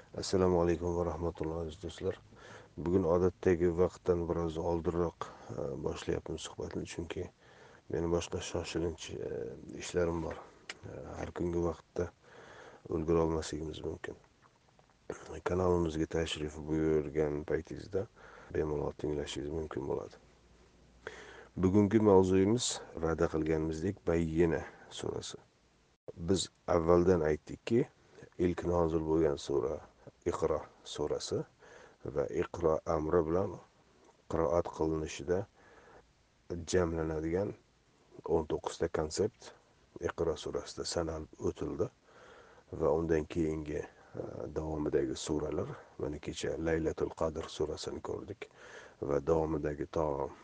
Assalomu alaykum va rahmatullohi aziz do'stlar. Bugun odatdagi vaqtdan biroz oldinroq boshlayapmiz suhbatni, chunki meni boshqa shoshilinch ishlarim bor. Har kungi vaqtda ulgura olmasligimiz mumkin. Kanalimizga tashrif buyurgan paytingizda bemalol tinglashingiz mumkin bo'ladi. Bugungi mavzuyimiz va'da qilganimizdek Bayyina surasi. Biz avvaldan aytdikki, ilk nozil bo'lgan sura Iqro surasi va Iqro amri bilan qiroat qilinishida jamlanadigan 19 ta konsept Iqro surasida sanalib o'tildi va undan keyingi davomidagi suralar, mana kecha Laylatul Qadr surasini ko'rdik va davomidagi to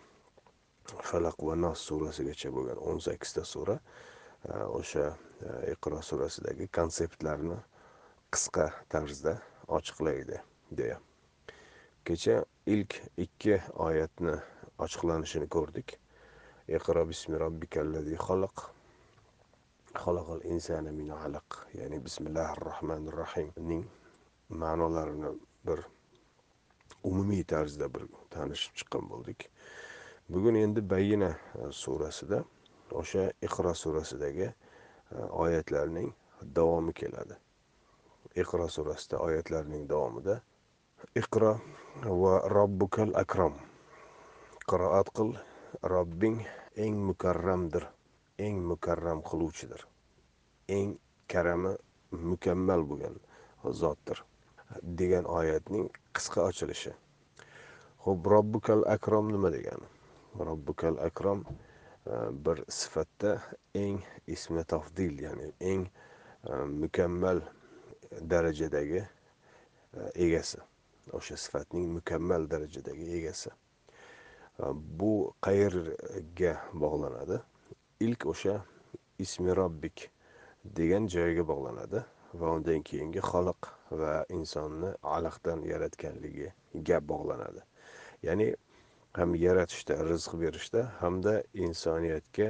Falaq va Nos surasigacha bo'lgan 18 ta sura o'sha Iqro surasidagi konseptlarni qisqa tarzda ochiqlaydi deya. Kecha ilk 2 oyatni ochiqlanishini ko'rdik. Iqro bismi robbikallazi xalaq, xalaqal insana min alaq, ya'ni bismillahir rohmanir rohimning ma'nolarini bir umumiy tarzda bir tanishib chiqqan bo'ldik. Bugun endi Bayyina surasida o'sha Iqro surasidagi oyatlarning davomi keladi. Iqro surasida oyatlarning davomida Iqro va robbukal akram, qiroat qil, Robbing eng mukarramdir, eng mukarram qiluvchidir, eng karami mukammal bo'lgan zotdir degan oyatning qisqa ochilishi. Xo'p, robbukal akram nima degani? Robbukal akram bir sifatda eng ismi tafdil, ya'ni eng mukammal darajadagi egasi. O'sha sifatning mukammal darajadagi egasi. Bu qayerga bog'lanadi? Ilk o'sha ismi robbik degan joyga bog'lanadi va undan keyingi xalq va insonni alaqdan yaratganligiga bog'lanadi. Ya'ni ham yaratishda, rizq berishda hamda insoniyatga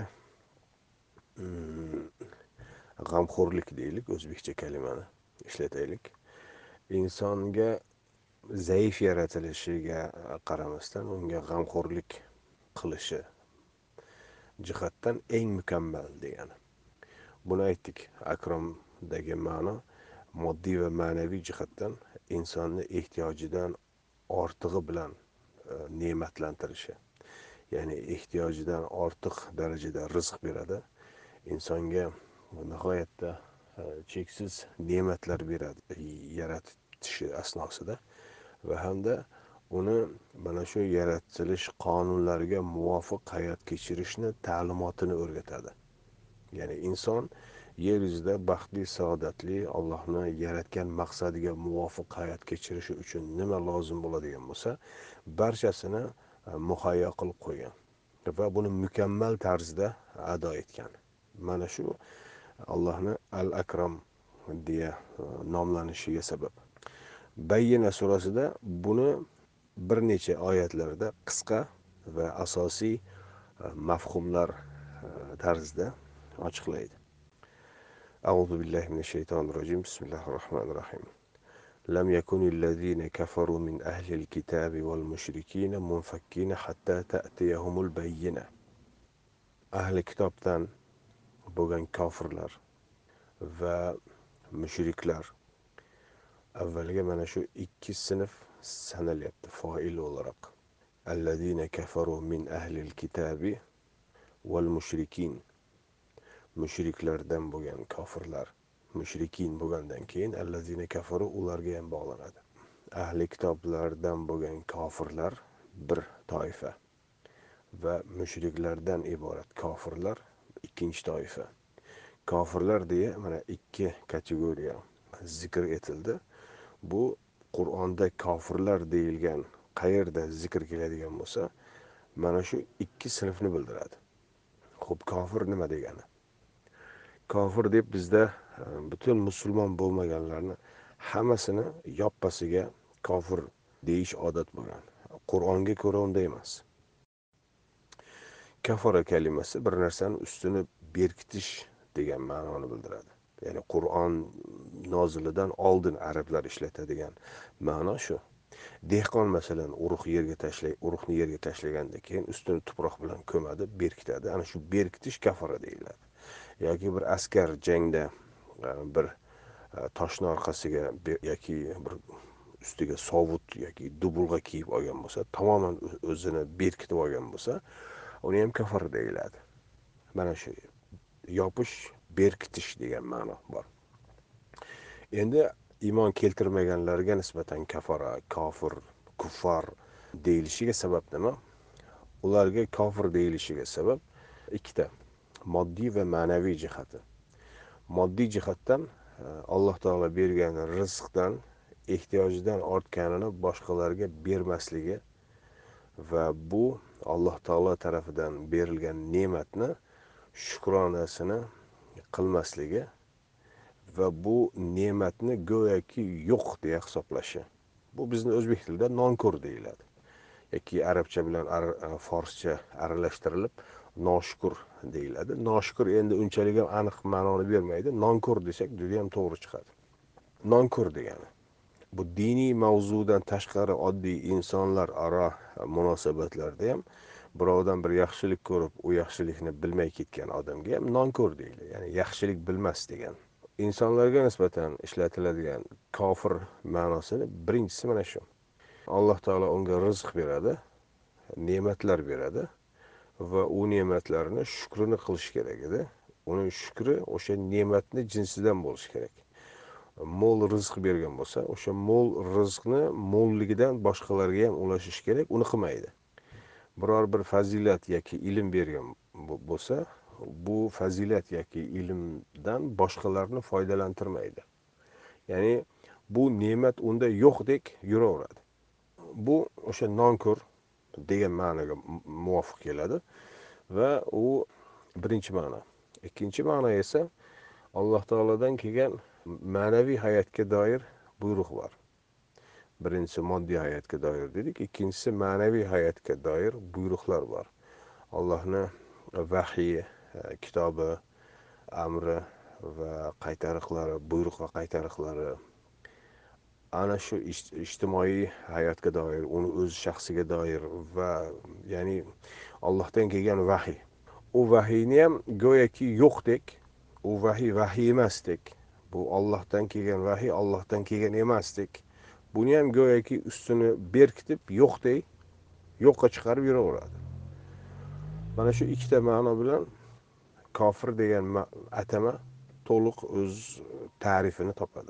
g'amxo'rlik deylik, o'zbekcha kalimani ishlataylik. Insonga zaif yaratilishiga qaramasdan unga g'amxo'rlik qilishi jihatdan eng mukammal degani. Buni aytdik. Akromdagi ma'no moddiy va ma'naviy jihatdan insonni ehtiyojidan ortig'i bilan ne'matlantirishi. Ya'ni ehtiyojidan ortiq darajada rizq beradi. Insonga nihoyatda cheksiz ne'matlar beradi yaratishi asnosida va hamda uni mana shu yaratilish qonunlariga muvofiq hayot kechirishni ta'limotini o'rgatadi. Ya'ni inson yer yuzida baxtli, saodatli, Allohni yaratgan maqsadiga muvofiq hayot kechirishi uchun nima lozim bo'ladigan bo'lsa, barchasini muhayyo qilib qo'ygan va buni mukammal tarzda ado etgan. Mana shu Allohni Al-Akram deya nomlanishiga sabab. Bayyina surasida buni bir necha oyatlarda qisqa va asosiy mafhumlar tarzida ochiqlaydi. A'udhu billahi minash shaytonir rojim. Bismillahir rohmanir rohim. Lam yakunillazina kafaru min ahlil kitabi wal mushrikina munfakkina hatta ta'tiyahumul bayyina. Ahli kitobdan bo'lgan kofirlar va mushriklar avvaliga mana shu ikki sinf sanalyapti foil o'laroq. Allazina kafaru min ahlil kitabi wal mushrikin, mushriklardan bo'lgan kofirlar, mushrikin bo'lgandan keyin allazina kafaru ularga ham bog'lanadi. Ahli kitoblardan bo'lgan kofirlar bir toifa va mushriklardan iborat kofirlar ikkinchi toifa. Kofirlar deya mana ikki kategoriya zikr etildi. Bu Qur'onda kofirlar deyilgan qayerda zikr keladigan bo'lsa, mana shu ikki sinfni bildiradi. Xo'p, kofir nima degani? Kofir deb bizda butun musulmon bo'lmaganlarni hammasini yoppasiga kofir deyish odat bo'lgan. Qur'onga ko'ra unday emas. Kafara kalimasi bir narsani ustini berkitish degan ma'noni bildiradi. ya'ni Qur'on nozilidan oldin arablar ishlatadigan ma'no shu. Dehqon masalan urug'ni yerga tashlagandan keyin ustini tuproq bilan ko'madi, berkitadi. Ana shu berkitish kafara deyiladi. Yoki bir askar jangda bir toshni orqasiga yoki bir ustiga sovut yoki dubulg'a kiyib olgan bo'lsa, tamoman o'zini berkitib olgan bo'lsa, uni ham kafara deyiladi. Mana shu yopish, berkitish degan ma'no bor. Endi iymon keltirmaganlarga nisbatan kafara, kofir, kuffar deyilishiga sabab nima? Ularga kofir deyilishiga sabab ikkita: moddiy va ma'naviy jihati. Moddiy jihatdan Alloh taolo bergan rizqdan ehtiyojidan ortganini boshqalarga bermasligi va bu Alloh taolo tarafidan berilgan ne'matni shukronasini qilmasligi va bu ne'matni go'yoki yo'q deya hisoblashi. Bu bizni o'zbek tilida nonko'r deyiladi. Yoki arabcha bilan forscha aralashtirilib noshukur deyiladi. Noshukur endi unchalik ham aniq ma'noni bermaydi. Nonko'r desak juda ham to'g'ri chiqadi. Nonko'r degani bu diniy mavzudan tashqari oddiy insonlar aro munosabatlarda ham birovdan bir yaxshilik ko'rib, u yaxshilikni bilmay ketgan odamga ham nonko'r deyiladi. Ya'ni yaxshilik bilmas degan. insonlarga nisbatan ishlatiladigan kofir ma'nosini birinchisi mana shu. Alloh taolo unga rizq beradi, ne'matlar beradi va u ne'matlarni shukrini qilish kerak edi. Uning shukri o'sha ne'matni jinsidan bo'lishi kerak. Mo'l rizq bergan bo'lsa, o'sha mo'l rizqni mo'lligidan boshqalarga ham ulashish kerak, uni qilmaydi. Biror bir fazilat yoki ilm bergan bo'lsa, bu fazilat yoki ilmdan boshqalarni foydalantirmaydi. Ya'ni bu ne'mat unda yo'qdek yuraveradi. Bu o'sha nonko'r degan ma'noga muvofiq keladi va u birinchi ma'no. Ikkinchi ma'no esa Alloh taolodan kelgan ma'naviy hayotga doir buyruq bor. Birinchisi moddiy hayotga doir dedik, ikkinchisi ma'naviy hayotga doir buyruqlar bor. Allohning vahiy kitobi, amri va qaytariqlari, buyruq va qaytariqlari ana shu ijtimoiy hayotga doir, uni o'z shaxsiga doir va ya'ni Allohdan kelgan vahiy. U vahiyni ham go'yoki yo'qdek, u vahiy emasdek, bu Allohdan kelgan vahiy Allohdan kelgan emasdek, buni ham go'yoki ustini berkitib yo'qdek yo'qqa chiqarib yuraveradi. Mana shu ikkita ma'no bilan kofir degan atama to'liq o'z ta'rifini topadi.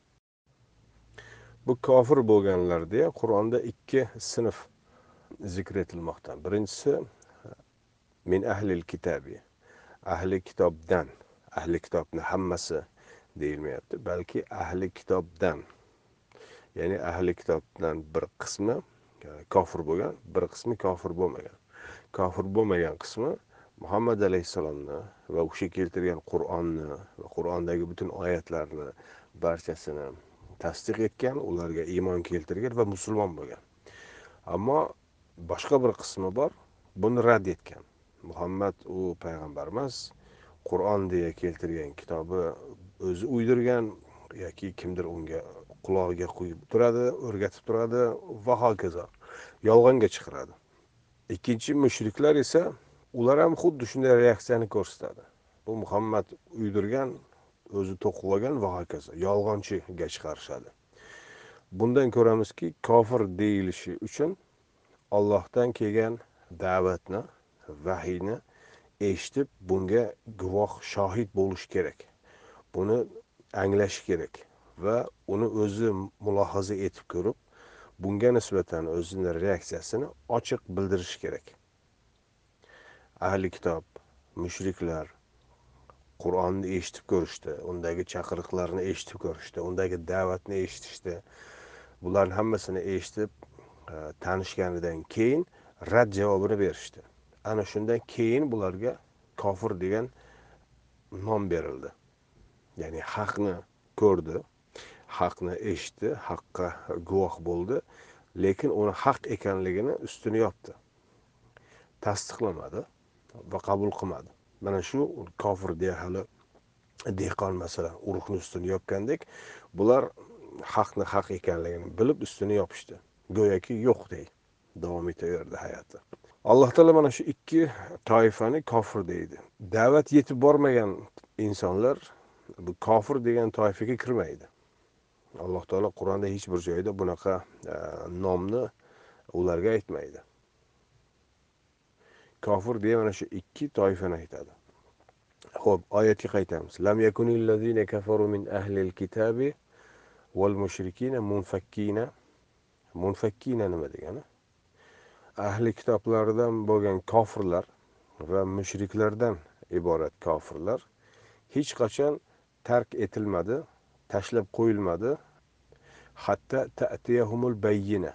Bu kofir bo'lganlarda Qur'onda ikki sinf zikr etilmoqda. Birinchisi min ahlil kitabi, ahli kitobdan. Ahli kitobni hammasi deyilmayapti, balki ahli kitobdan. Ya'ni ahli kitobdan bir qismi kofir bo'lgan, bir qismi kofir bo'lmagan. Kofir bo'lmagan qismi Muhammad alayhissalomni va o'sha keltirgan Qur'onni va Qur'ondagi butun oyatlarni barchasini tasdiq etgan, ularga iymon keltirgan va musulmon bo'lgan. Ammo boshqa bir qismi bor, buni rad etgan. Muhammad u payg'ambar emas, Qur'on deya keltirgan kitobi o'zi uydirgan yoki kimdir unga qulog'iga quyib turadi, o'rgatib turadi va hokazo. Yolg'onga chiqaradi. Ikkinchi mushriklar esa ular ham xuddi shunday reaksiyani ko'rsatadi. Bu Muhammad uydirgan, o'zi to'qib olgan va hokazo. Yolg'onchiga chiqarishadi. Bundan ko'ramizki, kofir deyilishi uchun Allohdan kelgan da'vatni, vahiyni eshitib, bunga guvoh, shohid bo'lish kerak. Buni anglash kerak va uni o'zi mulohaza etib ko'rib, bunga nisbatan o'zining reaksiyasini ochiq bildirish kerak. Ahli kitob, mushriklar Qur'onni eshitib ko'rishdi, undagi chaqiriqlarni eshitib ko'rishdi, undagi da'vatni eshitishdi. Bularning hammasini eshitib tanishganidan keyin rad javobini berishdi. Ana shundan keyin bularga kofir degan nom berildi. Ya'ni haqni ko'rdi, haqni eshitdi, haqqa guvoh bo'ldi, lekin uni haq ekanligini ustini yopdi. Tasdiqlamadi va qabul qilmadi. Mana shu kofir deya hali dehqon masalan urug'ni ustini yopgandek, bular haqni haq ekanligini bilib ustini yopishdi, go'yoki yo'qdek davom etaverdi hayoti. Alloh taolo mana shu ikki toifani kofir deydi. Da'vat yetib bormagan insonlar bu kofir degan toifaga kirmaydi. Alloh taolo Qur'onda hech bir joyda bunaqa nomni ularga aytmaydi. Kofir deya mana shu ikki toifani aytadi. Xo'p, oyatga qaytamiz. Lam yakunil ladzina kafaru min ahlil kitabi wal mushrikina munfakkina. Munfakkina nima degani? Ahli kitoblardan bo'lgan kofirlar va mushriklardan iborat kofirlar hech qachon tark etilmadi, tashlab qo'yilmadi. Hatta ta'tiyahumul bayyina.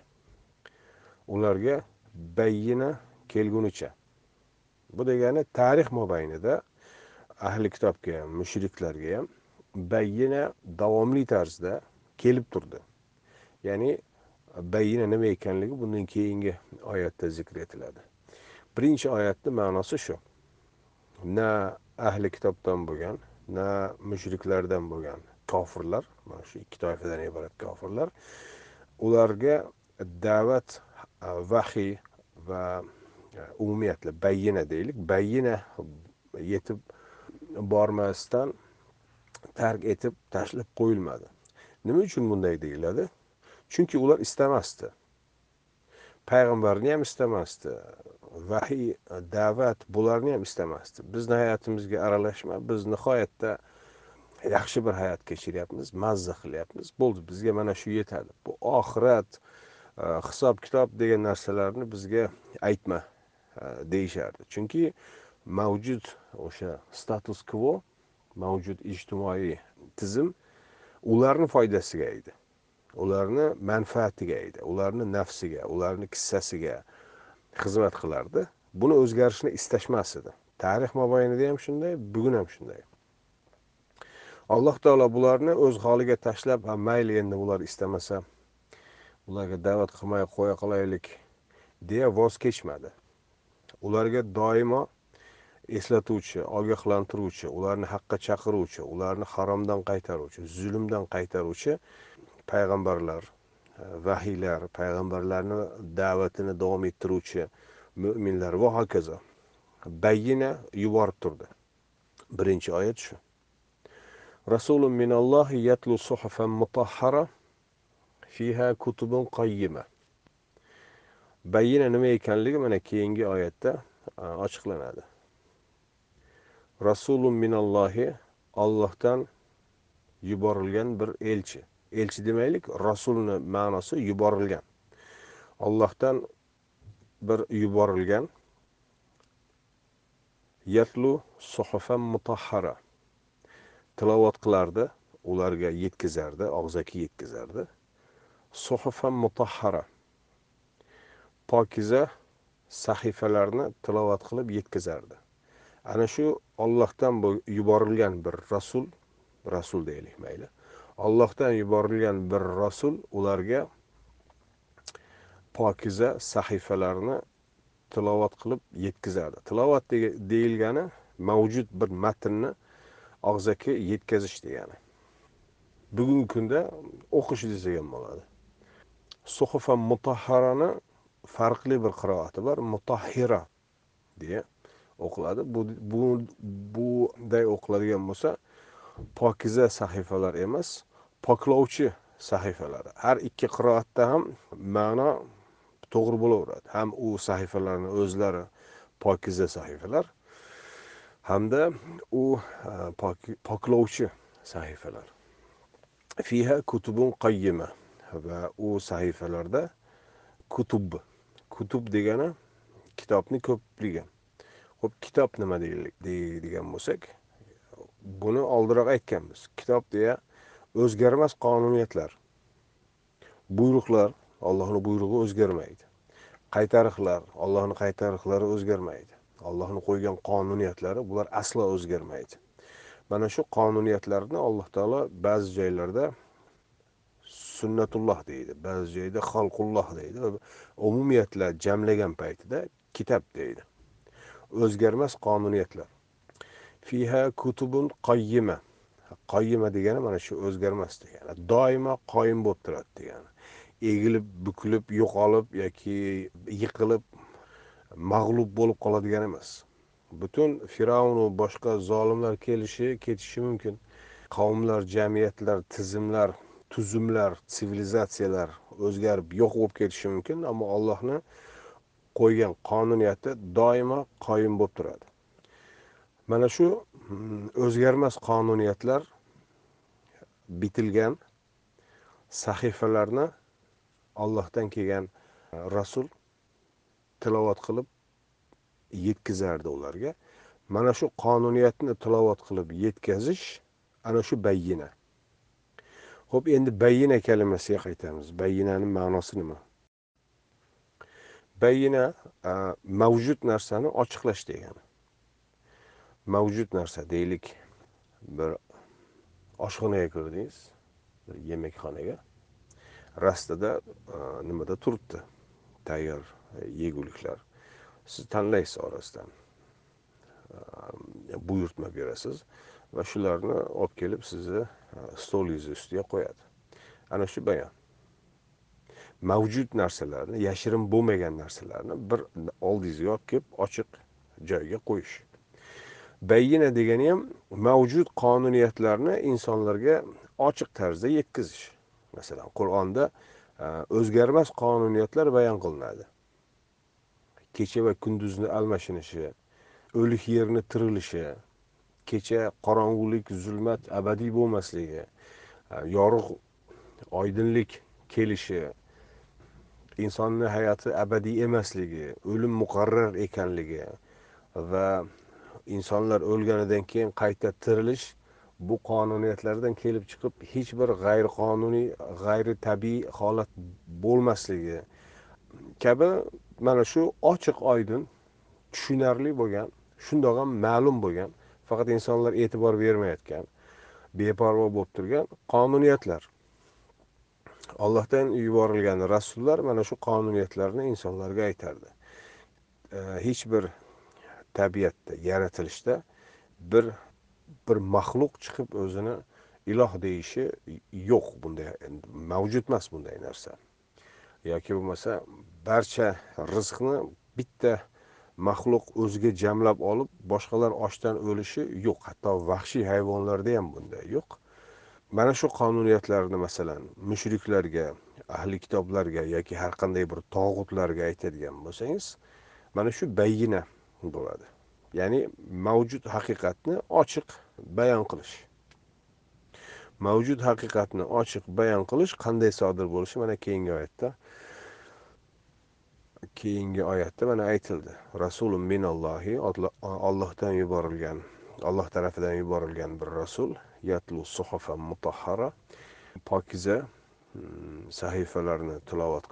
Ularga bayyina kelgunicha. Bu degani tarix mobaynida ahli kitobga ham, mushriklarga ham bayyina davomli tarzda kelib turdi. Ya'ni bayyina nima ekanligi bundan keyingi oyatda zikr etiladi. Birinchi oyatning ma'nosi shu. Na ahli kitobdan bo'lgan, na mushriklardan bo'lgan kofirlar, mana shu ikki toifadan iborat kofirlar, ularga da'vat, vahiy va umumiyatla bayyina deylik, bayyina yetib bormasdan tark etib tashlab qo'yilmadi. Nima uchun bunday deyiladi? Chunki ular istamasdi. Payg'ambarni ham istamasdi. Vahiy, da'vat bularni ham istamasdi. Bizni hayotimizga aralashma, biz nihoyatda yaxshi bir hayot kechiryapmiz, mazza qilyapmiz. Bo'ldi, bizga mana shu yetadi. Bu oxirat, hisob kitob degan narsalarni bizga aytma deyishardi. Chunki mavjud o'sha status quo, mavjud ijtimoiy tizim ularni foydasiga edi. Ularni manfaatiga edi, ularni nafsiga, ularni kissasiga xizmat qilardi. Buni o'zgarishni istashmas edi. Tarix mobaynida ham shunday, bugun ham shunday. Alloh taolo bularni o'z holiga tashlab, mayli endi ular istamasa, ularga da'vat qilmay qo'ya qolaylik deya voz kechmadi. Ularga doimo eslatuvchi, ogohlantiruvchi, ularni haqqa chaqiruvchi, ularni haromdan qaytaruvchi, zulmdan qaytaruvchi payg'ambarlar, vahiylar, payg'ambarlarni da'vatini davom ettiruvchi mu'minlar va hokazo bayyina yuborib turdi. Birinchi oyat shu. Rasulun minallohi yatlu suhufan mutahhara fiha kutubun qayyima. Bayyina nima ekanligi mana keyingi oyatda ochiqlanadi. Rasulun minallohi, Allohdan yuborilgan bir elchi. Elchi demaylik, rasulni ma'nosi yuborilgan. Allohdan bir yuborilgan yatlu suhufan mutahhara. Tilovat qilardi, ularga yetkazardi, og'zaki yetkazardi. Suhufan mutahhara. Pokiza sahifalarni tilovat qilib yetkazardi. Ana shu Allohdan yuborilgan bir rasul deylik mayli. Allohdan yuborilgan bir rasul ularga pokiza sahifalarni tilovat qilib yetkazardi. Tilovat deyilgani mavjud bir matnni og'zaki yetkazish degani. Bugungi kunda o'qish desak ham bo'ladi. Suhufan mutahharani farqli bir qiroati bor, mutahhira deya o'qiladi. Bunday o'qiladigan bo'lsa, pokiza sahifalar emas, poklovchi sahifalar. Har ikki qiroatda ham ma'no to'g'ri bo'laveradi. Ham u sahifalarning o'zlari pokiza sahifalar, hamda u poklovchi sahifalar. Fiha kutubun qayyima, va u sahifalarda kutub degani kitobni ko'pligi. Xo'p, kitob nima deydigan bo'lsak, buni oldinroq aytganmiz. Kitob deya o'zgarmas qonuniyatlar, buyruqlar, Allohning buyrug'i o'zgarmaydi. Qaytariqlar, Allohning qaytariqlari o'zgarmaydi. Allohning qo'ygan qonuniyatlari bular aslo o'zgarmaydi. Mana shu qonuniyatlarni Alloh taolo ba'zi joylarda sunnatulloh deydi, ba'zi joyda xalqulloh deydi va umumiyatla jamlagan paytida kitob deydi. O'zgarmas qonuniyatlar. Fiha kutubun qayyima. Qoyima degani mana shu o'zgarmas degani. Doimo qoyim bo'lib turadi degani. Egilib, bukilib, yo'qolib yoki yiqilib, mag'lub bo'lib qoladigan emas. Butun Firavn va boshqa zolimlar ketishi mumkin. Qavmlar, jamiyatlar, tuzumlar, sivilizatsiyalar o'zgarib yo'q bo'lib ketishi mumkin, ammo Allohning qo'ygan qonuniyati doimo qoyim bo'lib turadi. Mana shu o'zgarmas qonuniyatlar bitilgan sahifalarni Allohdan kelgan rasul tilovat qilib yetkazardi ularga. Mana shu qonuniyatni tilovat qilib yetkazish ana shu bayyina. Xo'p, endi bayyina kalimasiga qaytamiz. Bayyinaning ma'nosi nima? Bayyina mavjud narsani ochiqlash degani. Mavjud narsa deylik, bir oshxonaga kirdingiz, bir yemekxonaga. Rastada nimada turibdi? Tayyor yeguliklar. Siz tanlaysiz orasidan. Buyurtma berasiz va shularni olib kelib sizni stolingiz ustiga qo'yadi. Ana shu bayon. Mavjud narsalarni, yashirin bo'lmagan narsalarni bir oldingizga olib kelib ochiq joyga qo'yish. Bayyina degani ham mavjud qonuniyatlarni insonlarga ochiq tarzda yetkazish. Masalan, Qur'onda o'zgarmas qonuniyatlar bayon qilinadi. Kecha va kunduzning almashinishi, o'lik yerni tirilishi, kecha qorong'ulik, zulmat abadiy bo'lmasligi, yorug' oydinlik kelishi, insonning hayoti abadiy emasligi, o'lim muqarrar ekanligi va insonlar o'lganidan keyin qayta tirilish bu qonuniyatlardan kelib chiqib hech bir g'ayriqonuniy, g'ayritabiiy holat bo'lmasligi kabi mana shu ochiq oydin, tushunarli bo'lgan, shundoq ham ma'lum bo'lgan, faqat insonlar e'tibor bermayotgan, beparvo bo'lib turgan qonuniyatlar. Allohdan yuborilgan rasullar mana shu qonuniyatlarni insonlarga aytardi. Hech bir tabiatda, yaratilishda bir maxluq chiqib o'zini iloh deyishi yo'q, bunday mavjud emas bunday narsa. Yoki bo'lmasa barcha rizqni bitta maxluq o'ziga jamlab olib, boshqalar ochdan o'lishi yo'q. Hatto vahshiy hayvonlarda ham bunday yo'q. Mana shu qonuniyatlarni masalan mushriklarga, ahli kitoblarga yoki har qanday bir tog'utlarga aytadigan bo'lsangiz, mana shu bayyina bo'ladi. Ya'ni mavjud haqiqatni ochiq bayon qilish. Mavjud haqiqatni ochiq bayon qilish qanday sodir bo'lishi mana keyingi oyatda mana aytildi. Rasulun minallohi, Allohdan yuborilgan, Alloh tarafidan yuborilgan bir rasul, yatlu suhufan mutahhara, pokiza sahifalarni tilovat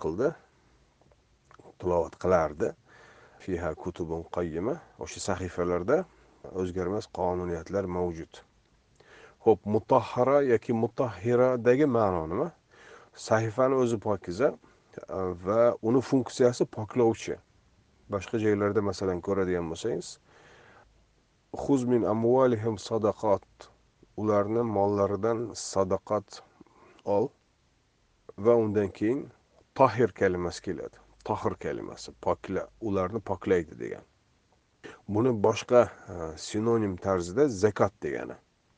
qilardi. Fiha kutubun qayyima. O'sha sahifalarda o'zgarmas qonuniyatlar mavjud. Xo'p, mutahhara yoki mutahhiradagi ma'no nima? Sahifani o'zi pokiza va uni funksiyasi poklovchi. Boshqa joylarda masalan ko'radigan bo'lsangiz, xuz min amwalihim sadaqat, ularni mollaridan sadaqat ol va undan keyin tahir kalimasi keladi. Tahir kalimasi, pokla, ularni poklaydi degan. Buni boshqa sinonim tarzida zakot degani.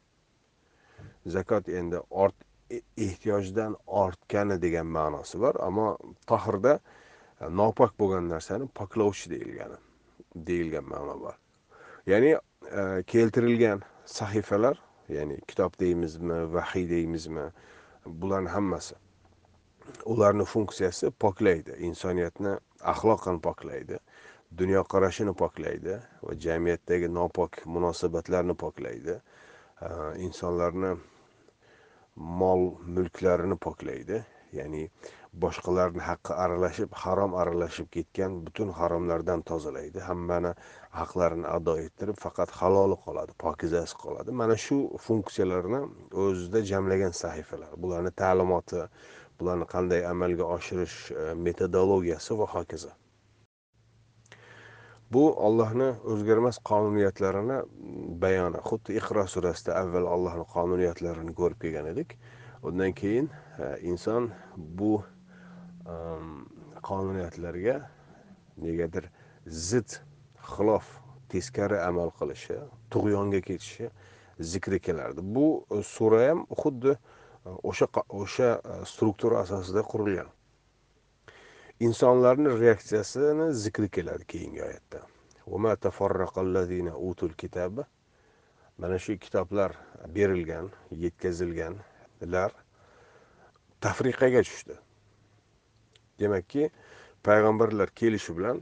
Zakot endi ehtiyojdan ortgani degan ma'nosi bor, ammo tahirda nopok bo'lgan narsani poklovchi deyilgan ma'no bor. Ya'ni keltirilgan sahifalar, ya'ni kitob deymizmi, vahiy deymizmi, bularning hammasi ularning funksiyasi poklaydi, insoniyatni axloqan poklaydi, dunyoqarashini poklaydi va jamiyatdagi nopok munosabatlarni poklaydi, insonlarni mol mulklarini poklaydi. Ya'ni boshqalarning haqqi aralashib, harom aralashib ketgan butun haromlardan tozalaydi. Hammani haqlarini ado ettirib, faqat haloli qoladi, pokizasi qoladi. Mana shu funksiyalarni o'zida jamlagan sahifalar. Bularni ta'limoti, bularni qanday amalga oshirish metodologiyasi va hokazo. Bu Allohning o'zgarmas qonuniyatlarini bayoni. Xuddi Iqro surasida avval Allohning qonuniyatlarini ko'rib kelgan edik. Undan keyin inson bu qonuniyatlarga negadir zid, xilof, teskari amal qilishi, tug'yonga ketishi zikri kelardi. Bu sura ham xuddi o'sha struktura asosida qurilgan. İnsanların reaksiyasini zikri keladi keyingi oyatda. وَمَا تَفَرَّقَ الَّذ۪ينَ أُوتُوا الْكِتَابَ Mana shu kitoblar berilgan, yetkazilganlar tafriqaga tushdi. Demakki, payg'ambarlar kelishi bilan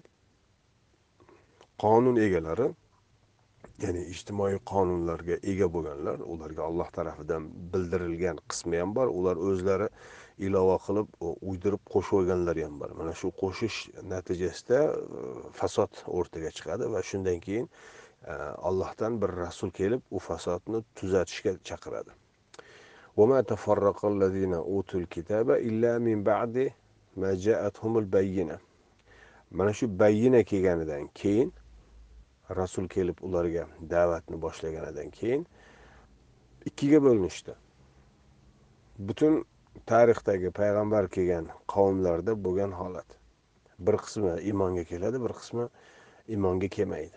qonun egalari, ya'ni ijtimoiy qonunlarga ega bo'lganlar, ularga Alloh tarafidan bildirilgan qismi ham bor, ular o'zlari ilova qilib uydirib qo'shib olganlar ham bor. Mana shu qo'shish natijasida fasod o'rtaga chiqadi va shundan keyin Allohdan bir rasul kelib u fasodni tuzatishga chaqiradi. وَمَا تَفَرَّقَ الَّذِينَ أُوتُوا الْكِتَابَ إِلَّا مِنْ بَعْدِ مَا جَاءَتْهُمُ الْبَيِّنَةُ Mana shu bayyina kelganidan keyin, rasul kelib ularga da'vatni boshlaganidan keyin ikkiga bo'linishdi. Butun tarixdagi payg'ambar kelgan qavmlarda bo'lgan holat. Bir qismi iymonga keladi, bir qismi iymonga kelmaydi.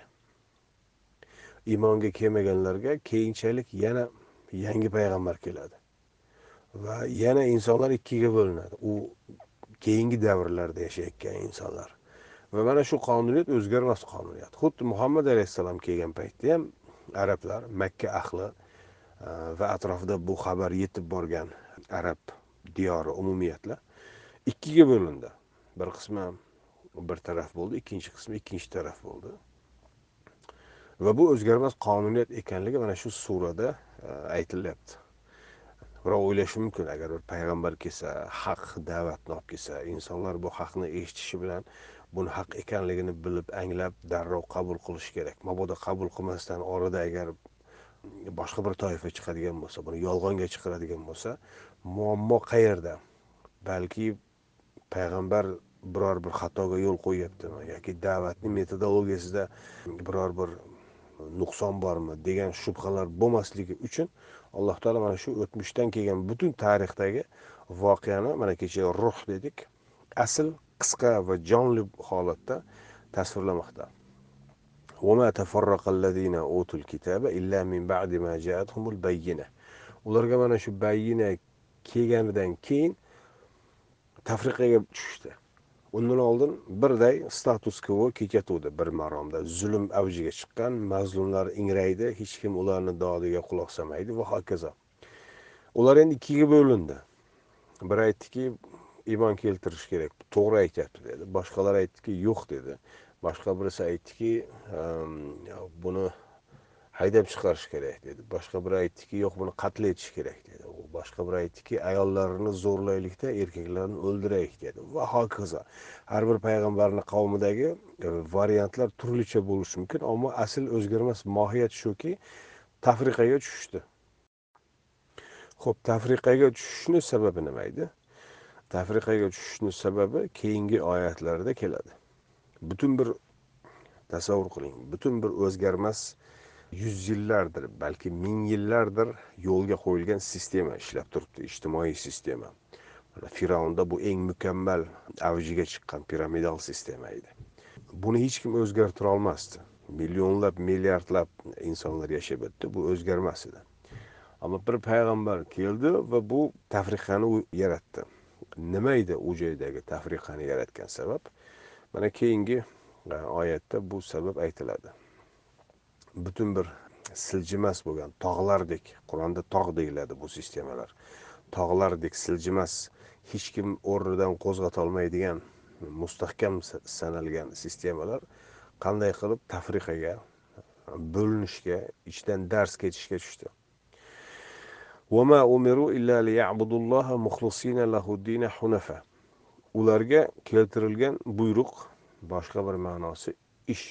Iymonga kelmaganlarga keyinchalik yana yangi payg'ambar keladi. Va yana insonlar ikkiga bo'linadi. U keyingi davrlarda yashayotgan insonlar. Va mana shu qonuniyat o'zgarmas qonuniyat. Xuddi Muhammad alayhissalom kelgan paytda ham arablar, Makka ahli va atrofida bu xabar yetib borgan arab diyori umumiyatla ikkiga bo'lindi. Bir qismi bir taraf bo'ldi, ikkinchi qismi ikkinchi taraf bo'ldi. Va bu o'zgarmas qonuniyat ekanligi mana shu surada aytilyapti. Birov o'ylashi mumkin, agar bir payg'ambar kelsa, haq da'vatni olib kelsa, insonlar bu haqni eshitishi bilan buni haq ekanligini bilib, anglab, darrov qabul qilish kerak. Mabodo qabul qilmasdan orada agar boshqa bir toifa chiqadigan bo'lsa, buni yolg'onga chiqaradigan bo'lsa, muammo qayerda? Balki payg'ambar biror bir xatoga yo'l qo'yyaptimi yoki da'vatning metodologiyasida biror bir nuqson bormi degan shubhalar bo'lmasligi uchun Alloh taolo mana shu o'tmishdan kelgan butun tarixdagi voqeani mana kecha ruh dedik, asl qisqa va jonli holatda tasvirlamoqda. وَمَا تَفَرَّقَ الَّذ۪ينَ أُوتُوا الْكِتَابَ إِلَّا مِنْ بَعْدِ مَا جَاءَتْهُمُ الْبَيِّنَةُ Ularga mana shu bayyina kelganidan keyin tafriqaga tushdi. Undan oldin birday status quo kechatuvdi bir maromda. Zulm avjiga chiqqan, mazlumlar ingraydi, hech kim ularni dodiga quloq solmaydi va hokazo. Ular endi ikkiga bo'lindi. Bir aytdiki, iymon keltirish kerak, to'g'ri aytyapti dedi. Boshqalar aytdiki, yo'q dedi. Boshqa birisi aytdiki, buni haydab chiqarish kerak dedi. Boshqa biri aytdiki, yo'q, buni qatl etish kerak dedi. Boshqa biri aytdiki, ayollarni zo'rlaylikda, erkaklarni o'ldiraylik dedi va hokazo. Har bir payg'ambarning qavmidagi variantlar turlicha bo'lishi mumkin, ammo asl o'zgarmas mohiyat shuki, tafriqaga tushishdi. Xo'p, tafriqaga tushishning sababi nima edi? Tafriqaga tushishning sababi keyingi oyatlarda keladi. Butun bir tasavvur qiling, butun bir o'zgarmas yüz yillardir, balki ming yillardir yo'lga qo'yilgan sistema ishlab turibdi, ijtimoiy sistema. Firavnda bu eng mukammal avjiga chiqqan piramidal sistema edi. Buni hech kim o'zgartira olmasdi. Millionlab, milliardlab insonlar yashab o'tdi, bu o'zgarmas edi. Ammo bir payg'ambar keldi va bu tafriqani yaratdi. Nima edi u joydagi tafriqani yaratgan sabab? Mana keyingi oyatda bu sabab aytiladi. Butun bir siljimas bo'lgan tog'lardek, Qur'onda tog' deyiladi bu sistemalar. Tog'lardek siljimas, hech kim o'rnidan qo'zg'ata olmaydigan, mustahkam sanalgan sistemalar qanday qilib tafriqaga, bo'linishga, ichdan dars ketishga tushdi. وَمَا أُمِرُوا إِلَّا لِيَعْبُدُوا اللَّهَ مُخْلِصِينَ لَهُ الدِّينَ حُنَفَاءَ Ularga keltirilgan buyruq, boshqa bir ma'nosi ish.